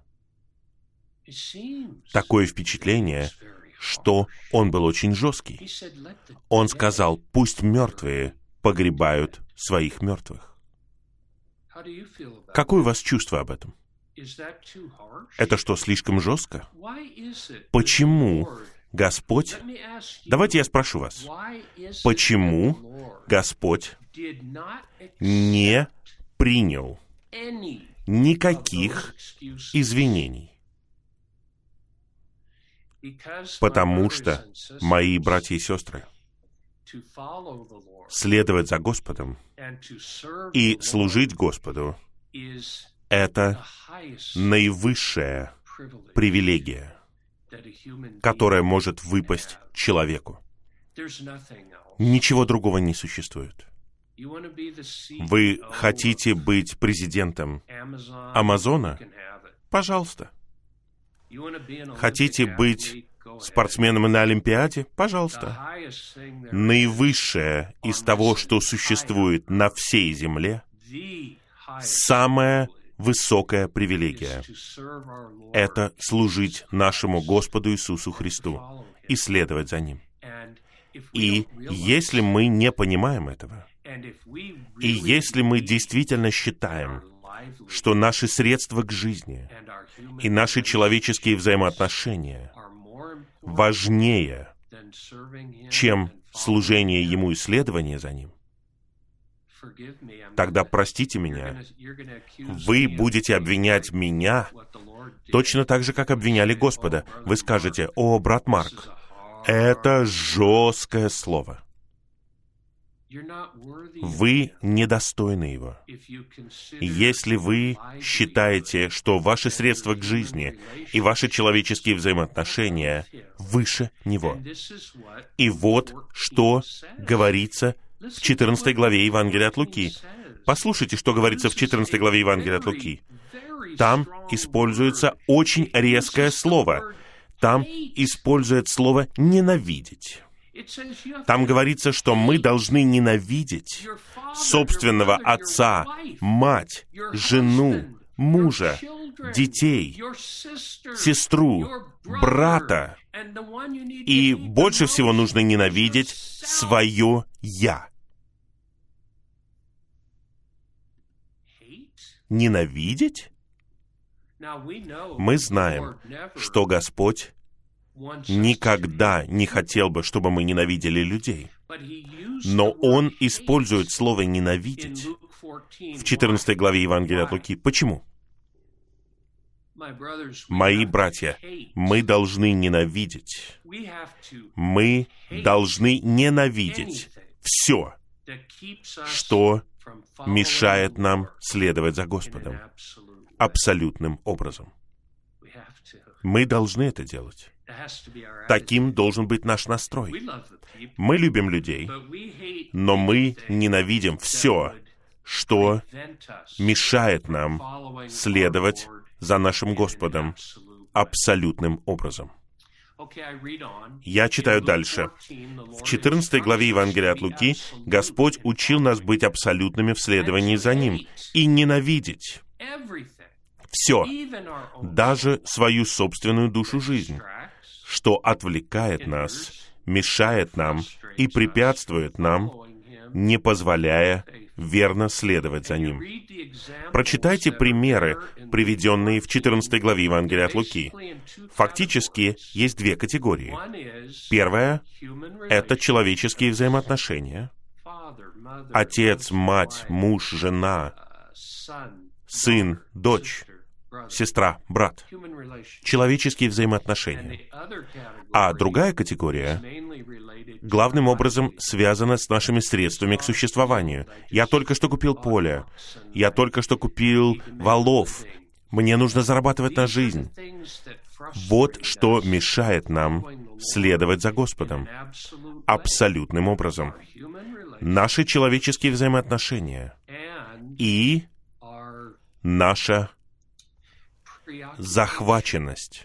S1: Такое впечатление, что Он был очень жесткий. Он сказал: «Пусть мертвые погребают своих мертвых». Какое у вас чувство об этом? Это что, слишком жестко? Почему Господь... Давайте я спрошу вас. Почему Господь не принял никаких извинений? Потому что, мои братья и сестры, следовать за Господом и служить Господу — это наивысшая привилегия, которая может выпасть человеку. Ничего другого не существует. Вы хотите быть президентом Амазона? Пожалуйста. Хотите быть спортсменом на Олимпиаде? Пожалуйста. Наивысшее из того, что существует на всей земле, самая высокая привилегия — это служить нашему Господу Иисусу Христу и следовать за Ним. И если мы не понимаем этого, и если мы действительно считаем, что наши средства к жизни и наши человеческие взаимоотношения важнее, чем служение Ему и следование за Ним, тогда, простите меня, вы будете обвинять меня точно так же, как обвиняли Господа. Вы скажете: «О, брат Марк, это жесткое слово. Вы недостойны его». Если вы считаете, что ваши средства к жизни и ваши человеческие взаимоотношения выше него. И вот что говорится в 14 главе Евангелия от Луки. Послушайте, что говорится в 14 главе Евангелия от Луки. Там используется очень резкое слово. Там используется слово «ненавидеть». Там говорится, что мы должны ненавидеть собственного отца, мать, жену, мужа, детей, сестру, брата. И больше всего нужно ненавидеть свое «я». Ненавидеть? Мы знаем, что Господь никогда не хотел бы, чтобы мы ненавидели людей. Но Он использует слово «ненавидеть» в 14 главе Евангелия от Луки. Почему? Мои братья, мы должны ненавидеть. Мы должны ненавидеть все, что мешает нам следовать за Господом абсолютным образом. Мы должны это делать. Таким должен быть наш настрой. Мы любим людей, но мы ненавидим все, что мешает нам следовать за нашим Господом абсолютным образом. Я читаю дальше. В 14 главе Евангелия от Луки Господь учил нас быть абсолютными в следовании за Ним и ненавидеть все, даже свою собственную душу жизнь, что отвлекает нас, мешает нам и препятствует нам, не позволяя верно следовать за Ним. Прочитайте примеры, приведенные в 14 главе Евангелия от Луки. Фактически, есть две категории. Первая — это человеческие взаимоотношения. отец, мать, муж, жена, сын, дочь, сестра, брат. Человеческие взаимоотношения. А другая категория главным образом связана с нашими средствами к существованию. Я только что купил поле. Я только что купил валов. Мне нужно зарабатывать на жизнь. Вот что мешает нам следовать за Господом. Абсолютным образом. Наши человеческие взаимоотношения и наша захваченность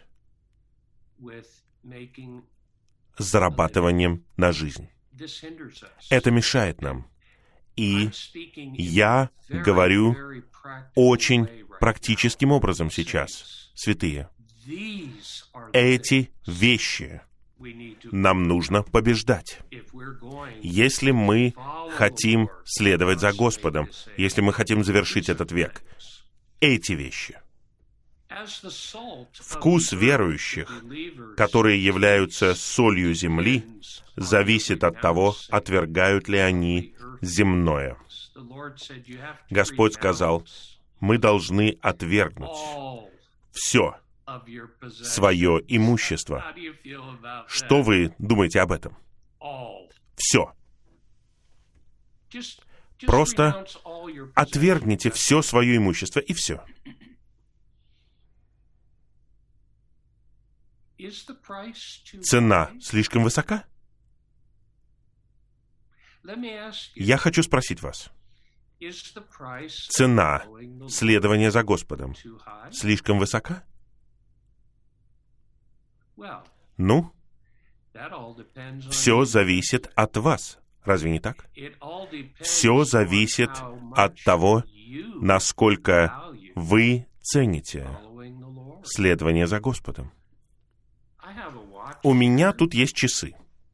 S1: зарабатыванием на жизнь. Это мешает нам. И я говорю очень практическим образом сейчас, святые. Эти вещи нам нужно побеждать. Если мы хотим следовать за Господом, если мы хотим завершить этот век, эти вещи. Вкус верующих, которые являются солью земли, зависит от того, отвергают ли они земное. Господь сказал, мы должны отвергнуть все свое имущество. Что вы думаете об этом? Все. Просто отвергните все свое имущество, и все. Цена слишком высока? Я хочу спросить вас. Цена следования за Господом слишком высока? Ну, все зависит от вас. Разве не так? Все зависит от того, насколько вы цените следование за Господом. У меня тут есть часы.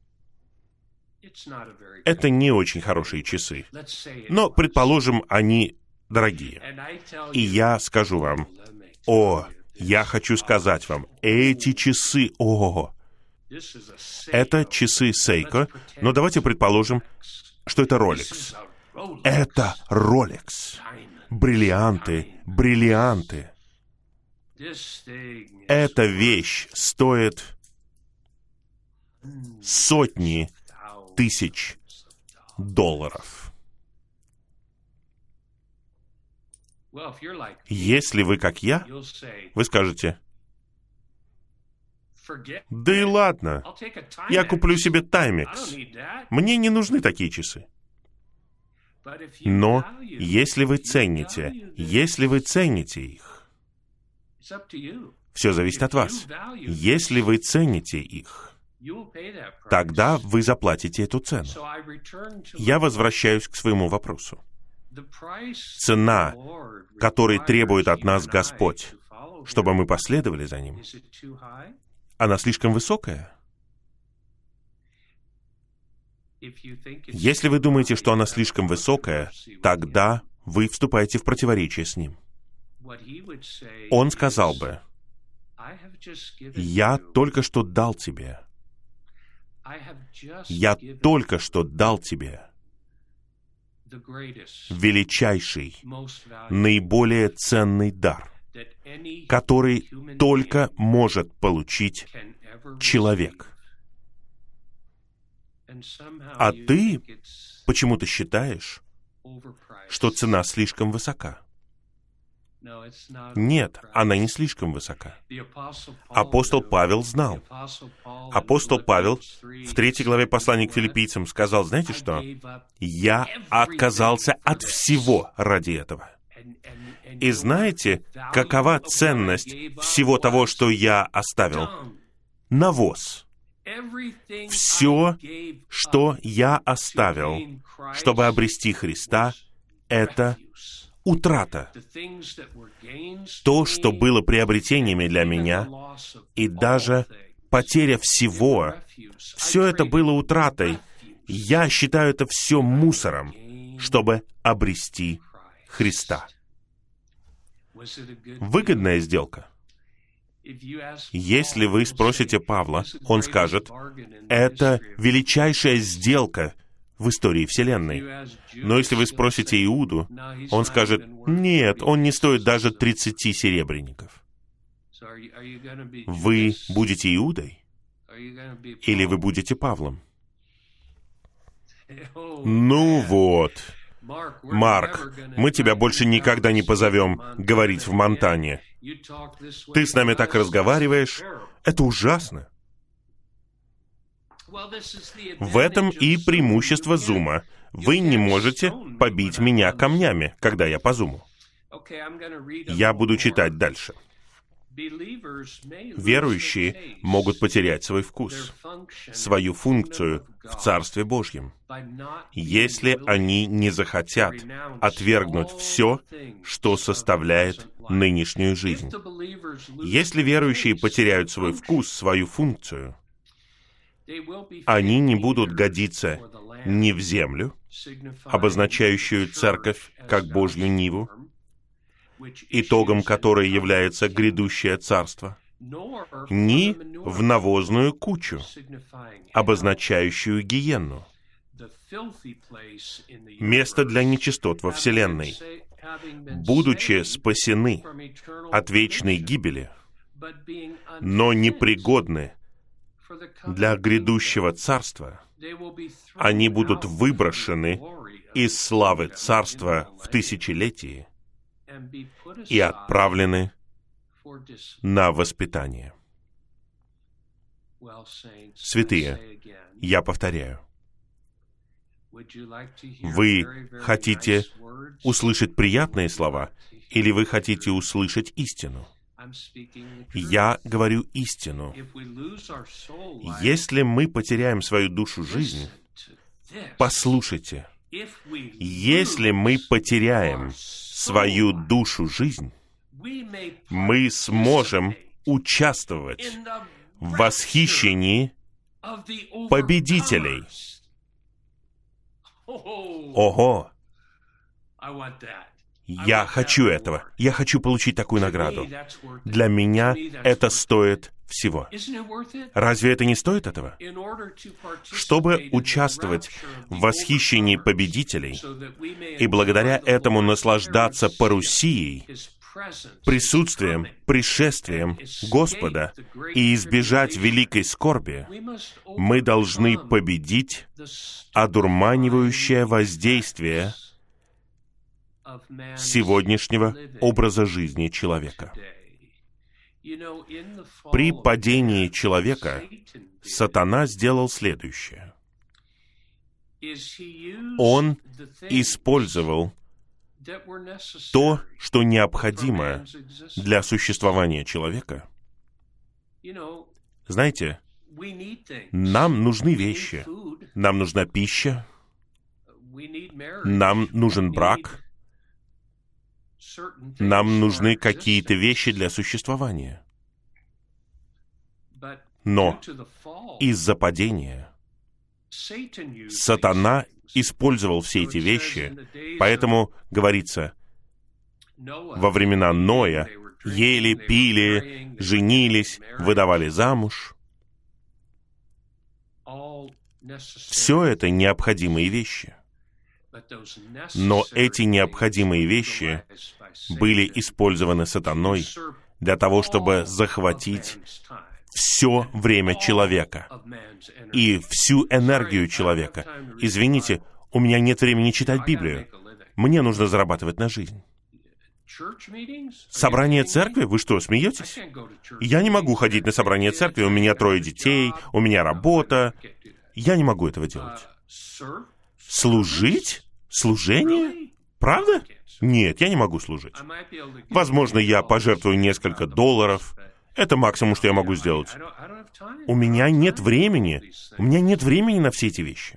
S1: Это не очень хорошие часы. Но, предположим, они дорогие. И я скажу вам, я хочу сказать вам, эти часы, это часы Seiko, но давайте предположим, что это Rolex. Это Rolex. Бриллианты. Эта вещь стоит сотни тысяч долларов. Если вы как я, вы скажете, да и ладно, я куплю себе Timex. Мне не нужны такие часы. Но если вы цените их, все зависит от вас. Если вы цените их, тогда вы заплатите эту цену. Я возвращаюсь к своему вопросу. Цена, которой требует от нас Господь, чтобы мы последовали за Ним, она слишком высокая? Если вы думаете, что она слишком высокая, тогда вы вступаете в противоречие с Ним. Он сказал бы, «Я только что дал тебе. Я только что дал тебе величайший, наиболее ценный дар, который только может получить человек. А ты почему-то считаешь, что цена слишком высока». Нет, она не слишком высока. Апостол Павел знал. Апостол Павел в 3 главе послания к филиппийцам сказал, знаете что? «Я отказался от всего ради этого». И знаете, какова ценность всего того, что я оставил? Навоз. Все, что я оставил, чтобы обрести Христа, это утрата. То, что было приобретениями для меня, и даже потеря всего, все это было утратой. Я считаю это все мусором, чтобы обрести Христа. Выгодная сделка. Если вы спросите Павла, он скажет, это величайшая сделка в истории Вселенной. Но если вы спросите Иуду, он скажет, нет, он не стоит даже 30 серебряников. Вы будете Иудой? Или вы будете Павлом? Ну вот, Марк, мы тебя больше никогда не позовем говорить в Монтане. Ты с нами так разговариваешь, это ужасно. В этом и преимущество Зума. Вы не можете побить меня камнями, когда я по Зуму. Я буду читать дальше. Верующие могут потерять свой вкус, свою функцию в Царстве Божьем, если они не захотят отвергнуть все, что составляет нынешнюю жизнь. Если верующие потеряют свой вкус, свою функцию, они не будут годиться ни в землю, обозначающую церковь как Божью ниву, итогом которой является грядущее царство, ни в навозную кучу, обозначающую гиенну, место для нечистот во Вселенной, будучи спасены от вечной гибели, но непригодны для грядущего царства, они будут выброшены из славы царства в тысячелетии и отправлены на воспитание. Святые, я повторяю, вы хотите услышать приятные слова, или вы хотите услышать истину? Я говорю истину. Если мы потеряем свою душу жизнь, послушайте, если мы потеряем свою душу жизнь, мы сможем участвовать в восхищении победителей. Ого! Я хочу этого. Я хочу получить такую награду. Для меня это стоит всего. Разве это не стоит этого? Чтобы участвовать в восхищении победителей и благодаря этому наслаждаться парусией, присутствием, пришествием Господа и избежать великой скорби, мы должны победить одурманивающее воздействие сегодняшнего образа жизни человека. При падении человека сатана сделал следующее. Он использовал то, что необходимо для существования человека. Знаете, нам нужны вещи, нам нужна пища, нам нужен брак, нам нужны какие-то вещи для существования. Но из-за падения сатана использовал все эти вещи, поэтому, говорится, во времена Ноя ели, пили, женились, выдавали замуж. Все это необходимые вещи. Но эти необходимые вещи были использованы сатаной для того, чтобы захватить все время человека и всю энергию человека. Извините, у меня нет времени читать Библию. Мне нужно зарабатывать на жизнь. Собрание церкви? Вы что, смеетесь? Я не могу ходить на собрание церкви, у меня 3 детей, у меня работа. Я не могу этого делать. Служить? Служение? Правда? Нет, я не могу служить. Возможно, я пожертвую несколько $. Это максимум, что я могу сделать. У меня нет времени. У меня нет времени на все эти вещи.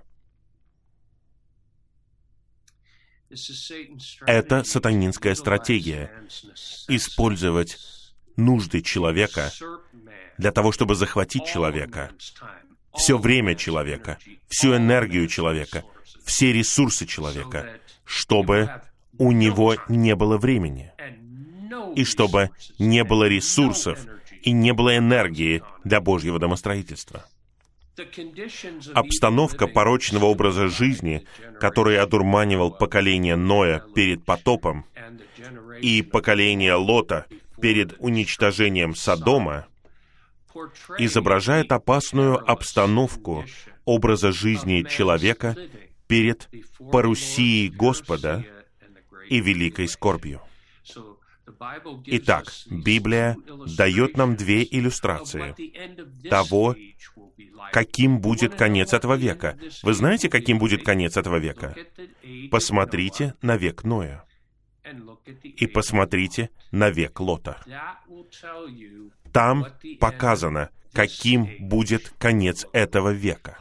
S1: Это сатанинская стратегия. Использовать нужды человека для того, чтобы захватить человека, все время человека, всю энергию человека, все ресурсы человека, чтобы у него не было времени, и чтобы не было ресурсов и не было энергии для Божьего домостроительства. Обстановка порочного образа жизни, который одурманивал поколение Ноя перед потопом и поколение Лота перед уничтожением Содома, изображает опасную обстановку образа жизни человека перед парусией Господа и великой скорбью. Итак, Библия дает нам две иллюстрации того, каким будет конец этого века. Вы знаете, каким будет конец этого века? Посмотрите на век Ноя. И посмотрите на век Лота. Там показано, каким будет конец этого века.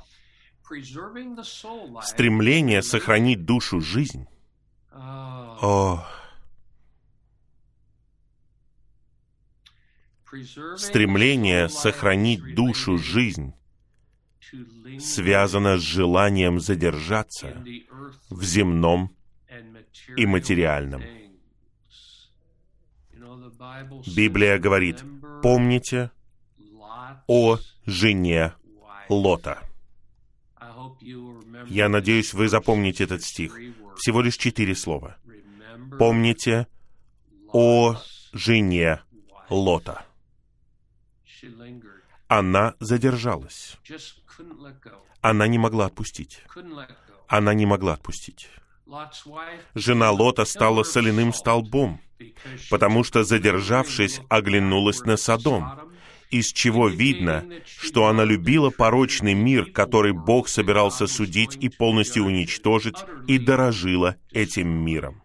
S1: Стремление сохранить душу жизнь. Стремление сохранить душу жизнь связано с желанием задержаться в земном и материальном. Библия говорит: помните о жене Лота. Я надеюсь, вы запомните этот стих. Всего лишь 4 слова. Помните о жене Лота. Она задержалась. Она не могла отпустить. Она не могла отпустить. Жена Лота стала соляным столбом, потому что, задержавшись, оглянулась на Содом, из чего видно, что она любила порочный мир, который Бог собирался судить и полностью уничтожить, и дорожила этим миром.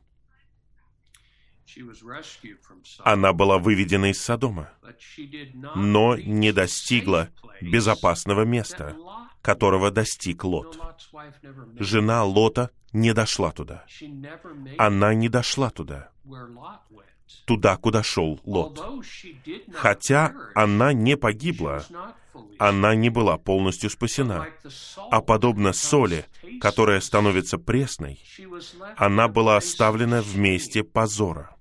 S1: Она была выведена из Содома, но не достигла безопасного места, которого достиг Лот. Жена Лота не дошла туда. Она не дошла туда, куда шел Лот. Хотя она не погибла, она не была полностью спасена. А подобно соли, которая становится пресной, она была оставлена в месте позора.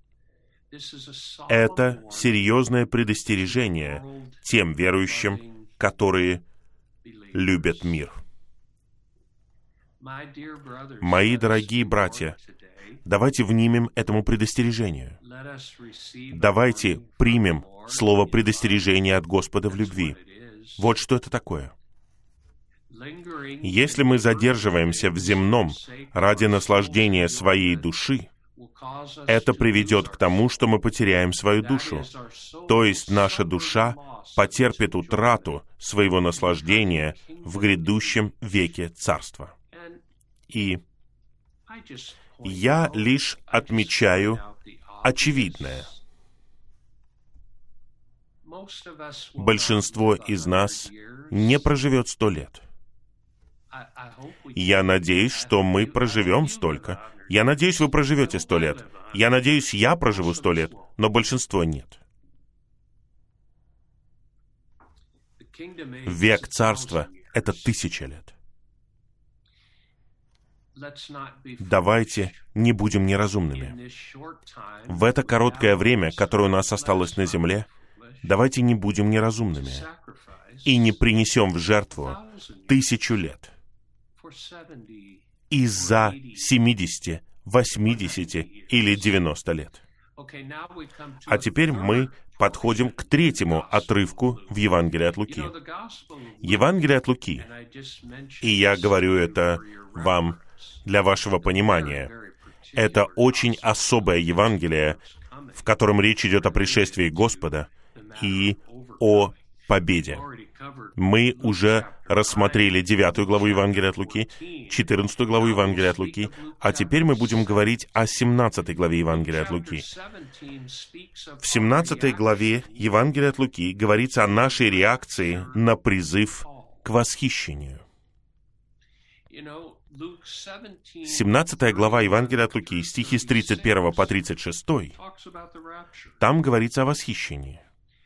S1: Это серьезное предостережение тем верующим, которые любят мир. Мои дорогие братья, давайте внимем этому предостережению. Давайте примем слово предостережения от Господа в любви. Вот что это такое. Если мы задерживаемся в земном ради наслаждения своей души, это приведет к тому, что мы потеряем свою душу. То есть наша душа потерпит утрату своего наслаждения в грядущем веке Царства. И я лишь отмечаю очевидное. Большинство из нас не проживет 100 лет. Я надеюсь, что мы проживем столько. Я надеюсь, вы проживете 100 лет. Я надеюсь, я проживу 100 лет, но большинство нет. Век Царства — это 1000 лет. Давайте не будем неразумными. В это короткое время, которое у нас осталось на земле, давайте не будем неразумными и не принесем в жертву 1000 лет из-за 70, 80 или 90 лет. А теперь мы подходим к 3-му отрывку в Евангелии от Луки. Евангелие от Луки, и я говорю это вам для вашего понимания, это очень особое Евангелие, в котором речь идет о пришествии Господа и о победе. Мы уже рассмотрели 9 главу Евангелия от Луки, 14 главу Евангелия от Луки, а теперь мы будем говорить о 17 главе Евангелия от Луки. В 17 главе Евангелия от Луки говорится о нашей реакции на призыв к восхищению. 17 глава Евангелия от Луки, стихи с 31 по 36, там говорится о восхищении.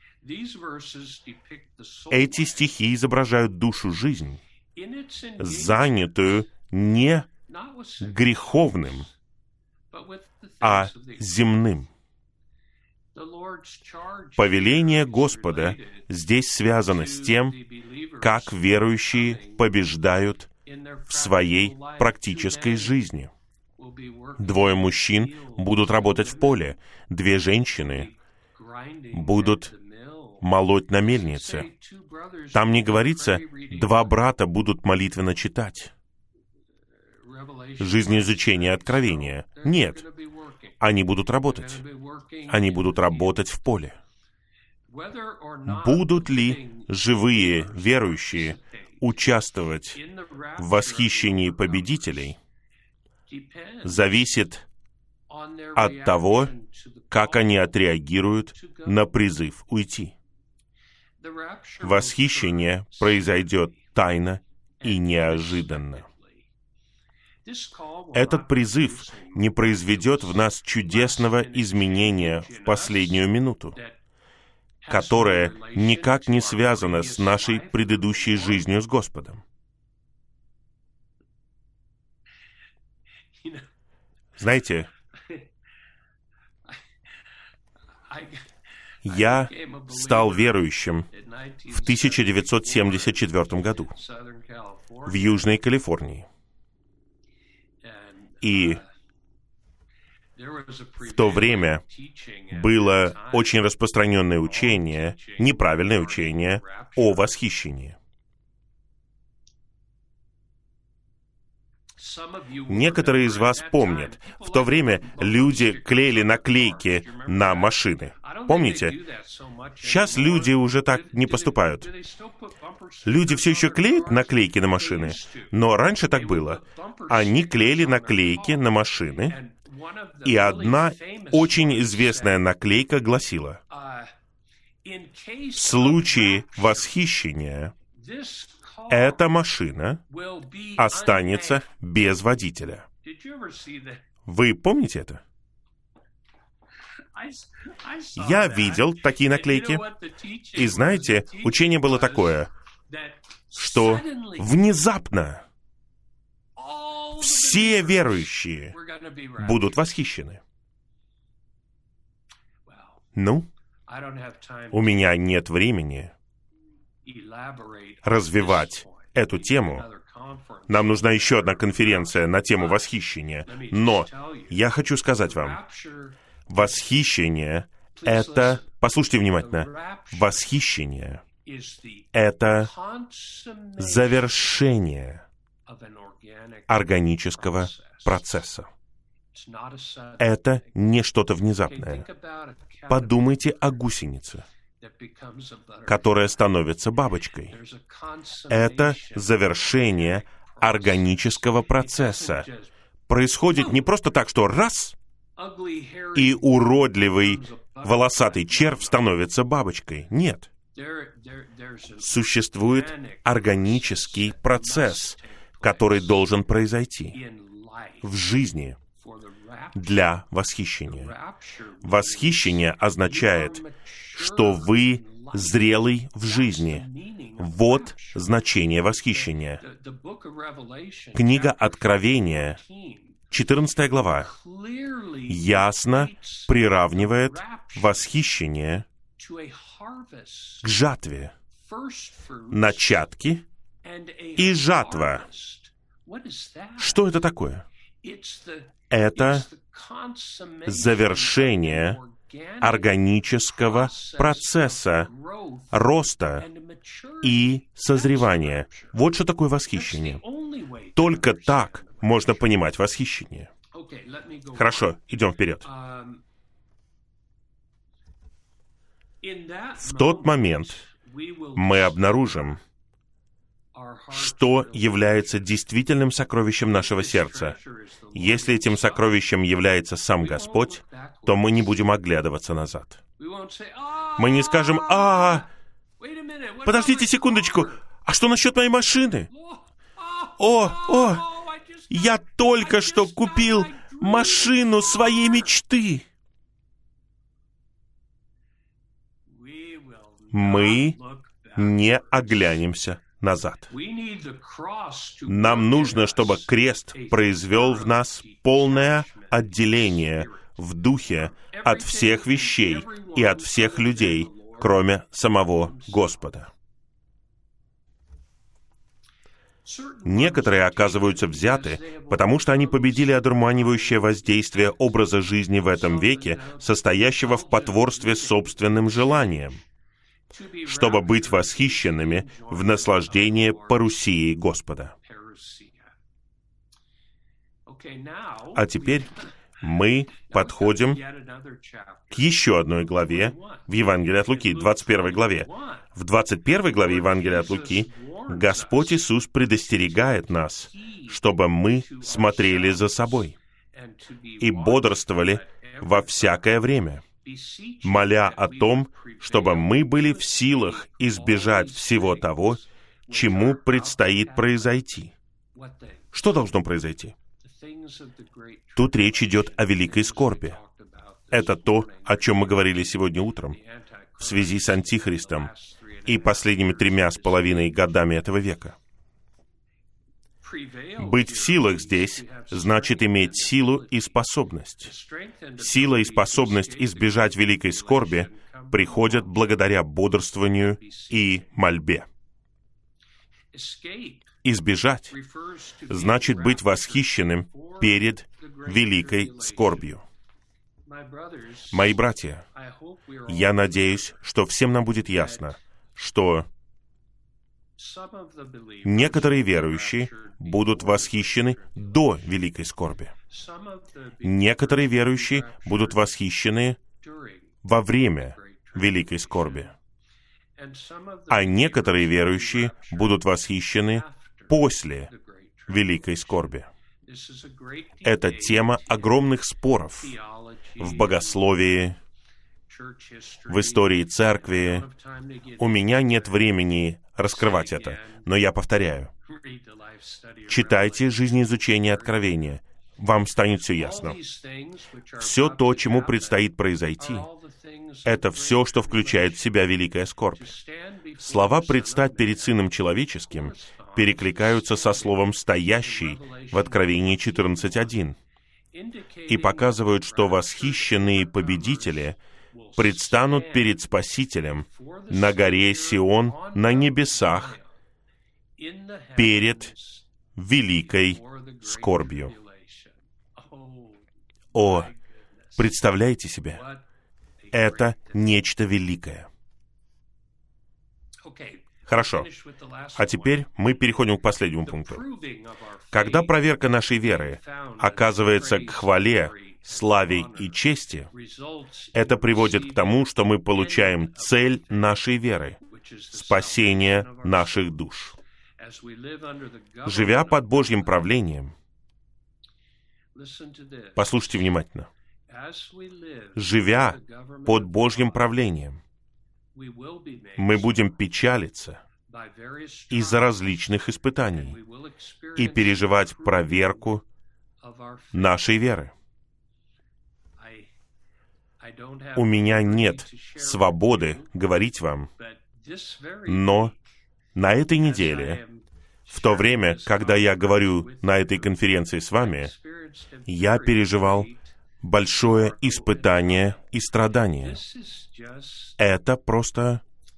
S1: Эти стихи изображают душу жизнь, занятую не греховным, а земным. Повеление Господа здесь связано с тем, как верующие побеждают в своей практической жизни. 2 мужчин будут работать в поле, 2 женщины будут молоть на мельнице. Там не говорится, 2 брата будут молитвенно читать. Жизнеизучение Откровения. Нет. Они будут работать. Они будут работать в поле. Будут ли живые верующие участвовать в восхищении победителей, зависит от того, как они отреагируют на призыв уйти. Восхищение произойдет тайно и неожиданно. Этот призыв не произведет в нас чудесного изменения в последнюю минуту, которое никак не связано с нашей предыдущей жизнью с Господом. Знаете, я стал верующим в 1974 году в Южной Калифорнии. И в то время было очень распространенное учение, неправильное учение о восхищении. Некоторые из вас помнят, в то время люди клеили наклейки на машины. Помните? Сейчас люди уже так не поступают. Люди все еще клеят наклейки на машины, но раньше так было. Они клеили наклейки на машины, и одна очень известная наклейка гласила: в случае восхищения эта машина останется без водителя. Вы помните это? Я видел такие наклейки. И знаете, учение было такое, что внезапно все верующие будут восхищены. Ну, у меня нет времени развивать эту тему. Нам нужна еще одна конференция на тему восхищения. Но я хочу сказать вам, восхищение — это... Послушайте внимательно. Восхищение — это завершение органического процесса. Это не что-то внезапное. Подумайте о гусенице, которая становится бабочкой. Это завершение органического процесса. Происходит не просто так, что раз, и уродливый волосатый червь становится бабочкой. Нет. Существует органический процесс, который должен произойти в жизни для восхищения. Восхищение означает, что вы зрелый в жизни. Вот значение восхищения. Книга Откровения, 14 глава, ясно приравнивает восхищение к жатве. Начатки и жатва. Что это такое? Это завершение органического процесса роста и созревания. Вот что такое восхищение. Только так можно понимать восхищение. Хорошо, идем вперед. В тот момент мы обнаружим, что является действительным сокровищем нашего сердца. Если этим сокровищем является сам Господь, то мы не будем оглядываться назад. Мы не скажем: подождите секундочку, а что насчет моей машины? Я только что купил машину своей мечты. Мы не оглянемся назад. Нам нужно, чтобы крест произвел в нас полное отделение в духе от всех вещей и от всех людей, кроме самого Господа. Некоторые оказываются взяты, потому что они победили одурманивающее воздействие образа жизни в этом веке, состоящего в потворстве собственным желаниям, чтобы быть восхищенными в наслаждении парусией Господа. А теперь мы подходим к еще одной главе в Евангелии от Луки, 21 главе. В 21 главе Евангелия от Луки Господь Иисус предостерегает нас, чтобы мы смотрели за собой и бодрствовали во всякое время, моля о том, чтобы мы были в силах избежать всего того, чему предстоит произойти. Что должно произойти? Тут речь идет о великой скорби. Это то, о чем мы говорили сегодня утром, в связи с Антихристом и последними 3,5 годами этого века. Быть в силах здесь значит иметь силу и способность. Сила и способность избежать великой скорби приходят благодаря бодрствованию и мольбе. Избежать значит быть восхищенным перед великой скорбью. Мои братья, я надеюсь, что всем нам будет ясно, что некоторые верующие будут восхищены до великой скорби. Некоторые верующие будут восхищены во время великой скорби. А некоторые верующие будут восхищены после великой скорби. Это тема огромных споров в богословии, в истории церкви. У меня нет времени раскрывать это, но я повторяю. Читайте жизнеизучение Откровения. Вам станет все ясно. Все то, чему предстоит произойти, это все, что включает в себя великая скорбь. Слова «предстать перед Сыном Человеческим» перекликаются со словом «стоящий» в Откровении 14:1 и показывают, что восхищенные победители предстанут перед Спасителем на горе Сион на небесах перед великой скорбью. О, представляете себе, это нечто великое. Хорошо. А теперь мы переходим к последнему пункту. Когда проверка нашей веры оказывается к хвале, славе и чести, это приводит к тому, что мы получаем цель нашей веры — спасение наших душ. Живя под Божьим правлением, послушайте внимательно, живя под Божьим правлением, мы будем печалиться из-за различных испытаний и переживать проверку нашей веры. У меня нет свободы говорить вам, но на этой неделе, в то время, когда я говорю на этой конференции с вами, я переживал большое испытание и страдание. Это просто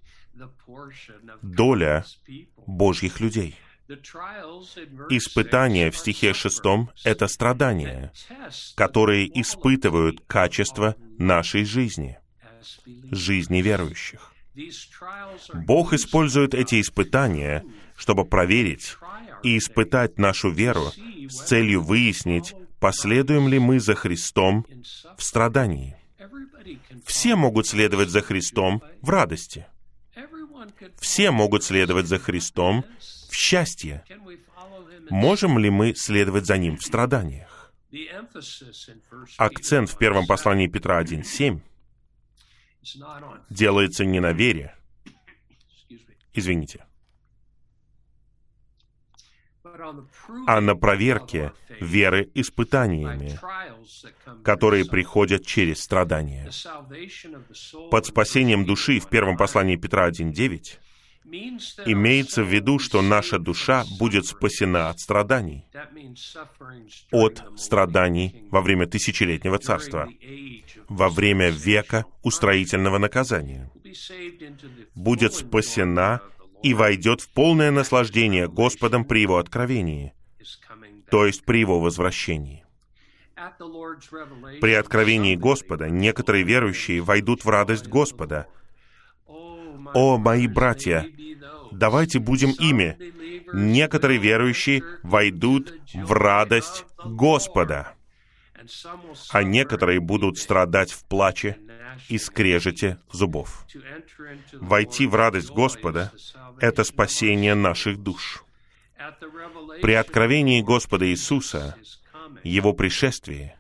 S1: доля Божьих людей. Испытание в стихе 6 — это страдания, которые испытывают качество нашей жизни, жизни верующих. Бог использует эти испытания, чтобы проверить и испытать нашу веру с целью выяснить, последуем ли мы за Христом в страдании. Все могут следовать за Христом в радости. Все могут следовать за Христом в счастье. Можем ли мы следовать за Ним в страданиях? Акцент в первом послании Петра 1:7 делается не на вере, а на проверке веры испытаниями, которые приходят через страдания. Под спасением души в первом послании Петра 1:9 Имеется в виду, что наша душа будет спасена от страданий. От страданий во время тысячелетнего царства, во время века устроительного наказания. Будет спасена и войдет в полное наслаждение Господом при Его откровении, то есть при Его возвращении. При откровении Господа некоторые верующие войдут в радость Господа. О, мои братья, давайте будем ими. Некоторые верующие войдут в радость Господа, а некоторые будут страдать в плаче и скрежете зубов. Войти в радость Господа — это спасение наших душ. При откровении Господа Иисуса, Его пришествии,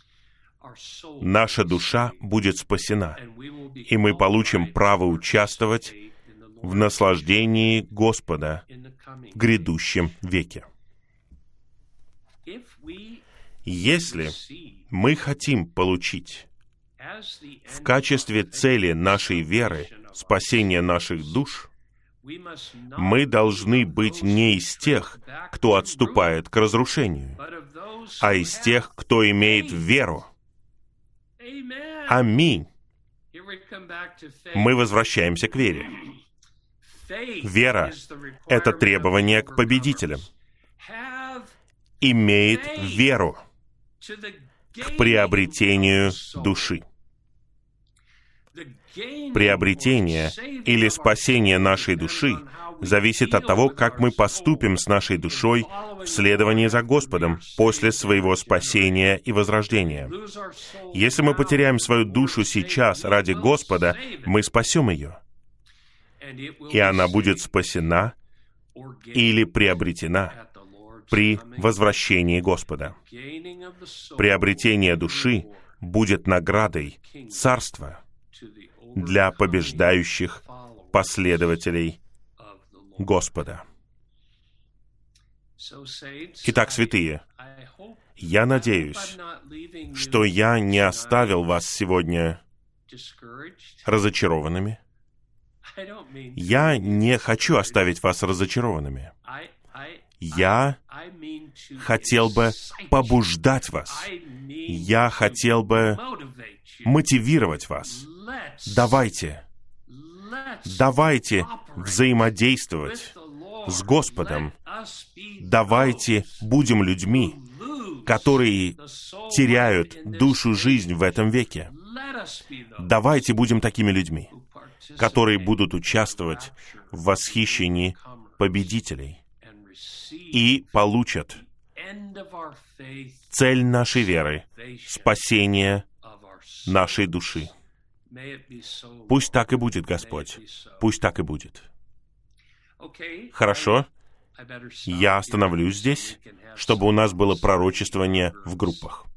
S1: наша душа будет спасена, и мы получим право участвовать в наслаждении Господа в грядущем веке. Если мы хотим получить в качестве цели нашей веры спасение наших душ, мы должны быть не из тех, кто отступает к разрушению, а из тех, кто имеет веру. Аминь. Мы возвращаемся к вере. Вера — это требование к победителям. Имеет веру к приобретению души. Приобретение или спасение нашей души зависит от того, как мы поступим с нашей душой в следовании за Господом после своего спасения и возрождения. Если мы потеряем свою душу сейчас ради Господа, мы спасем ее, и она будет спасена или приобретена при возвращении Господа. Приобретение души будет наградой Царства для побеждающих последователей Господа. Итак, святые, я надеюсь, что я не оставил вас сегодня разочарованными. Я не хочу оставить вас разочарованными. Я хотел бы побуждать вас. Я хотел бы мотивировать вас. Давайте взаимодействовать с Господом. Давайте будем людьми, которые теряют душу жизнь в этом веке. Давайте будем такими людьми, которые будут участвовать в восхищении победителей и получат цель нашей веры — спасение нашей души. Пусть так и будет, Господь. Пусть так и будет. Хорошо? Я остановлюсь здесь, чтобы у нас было пророчествование в группах.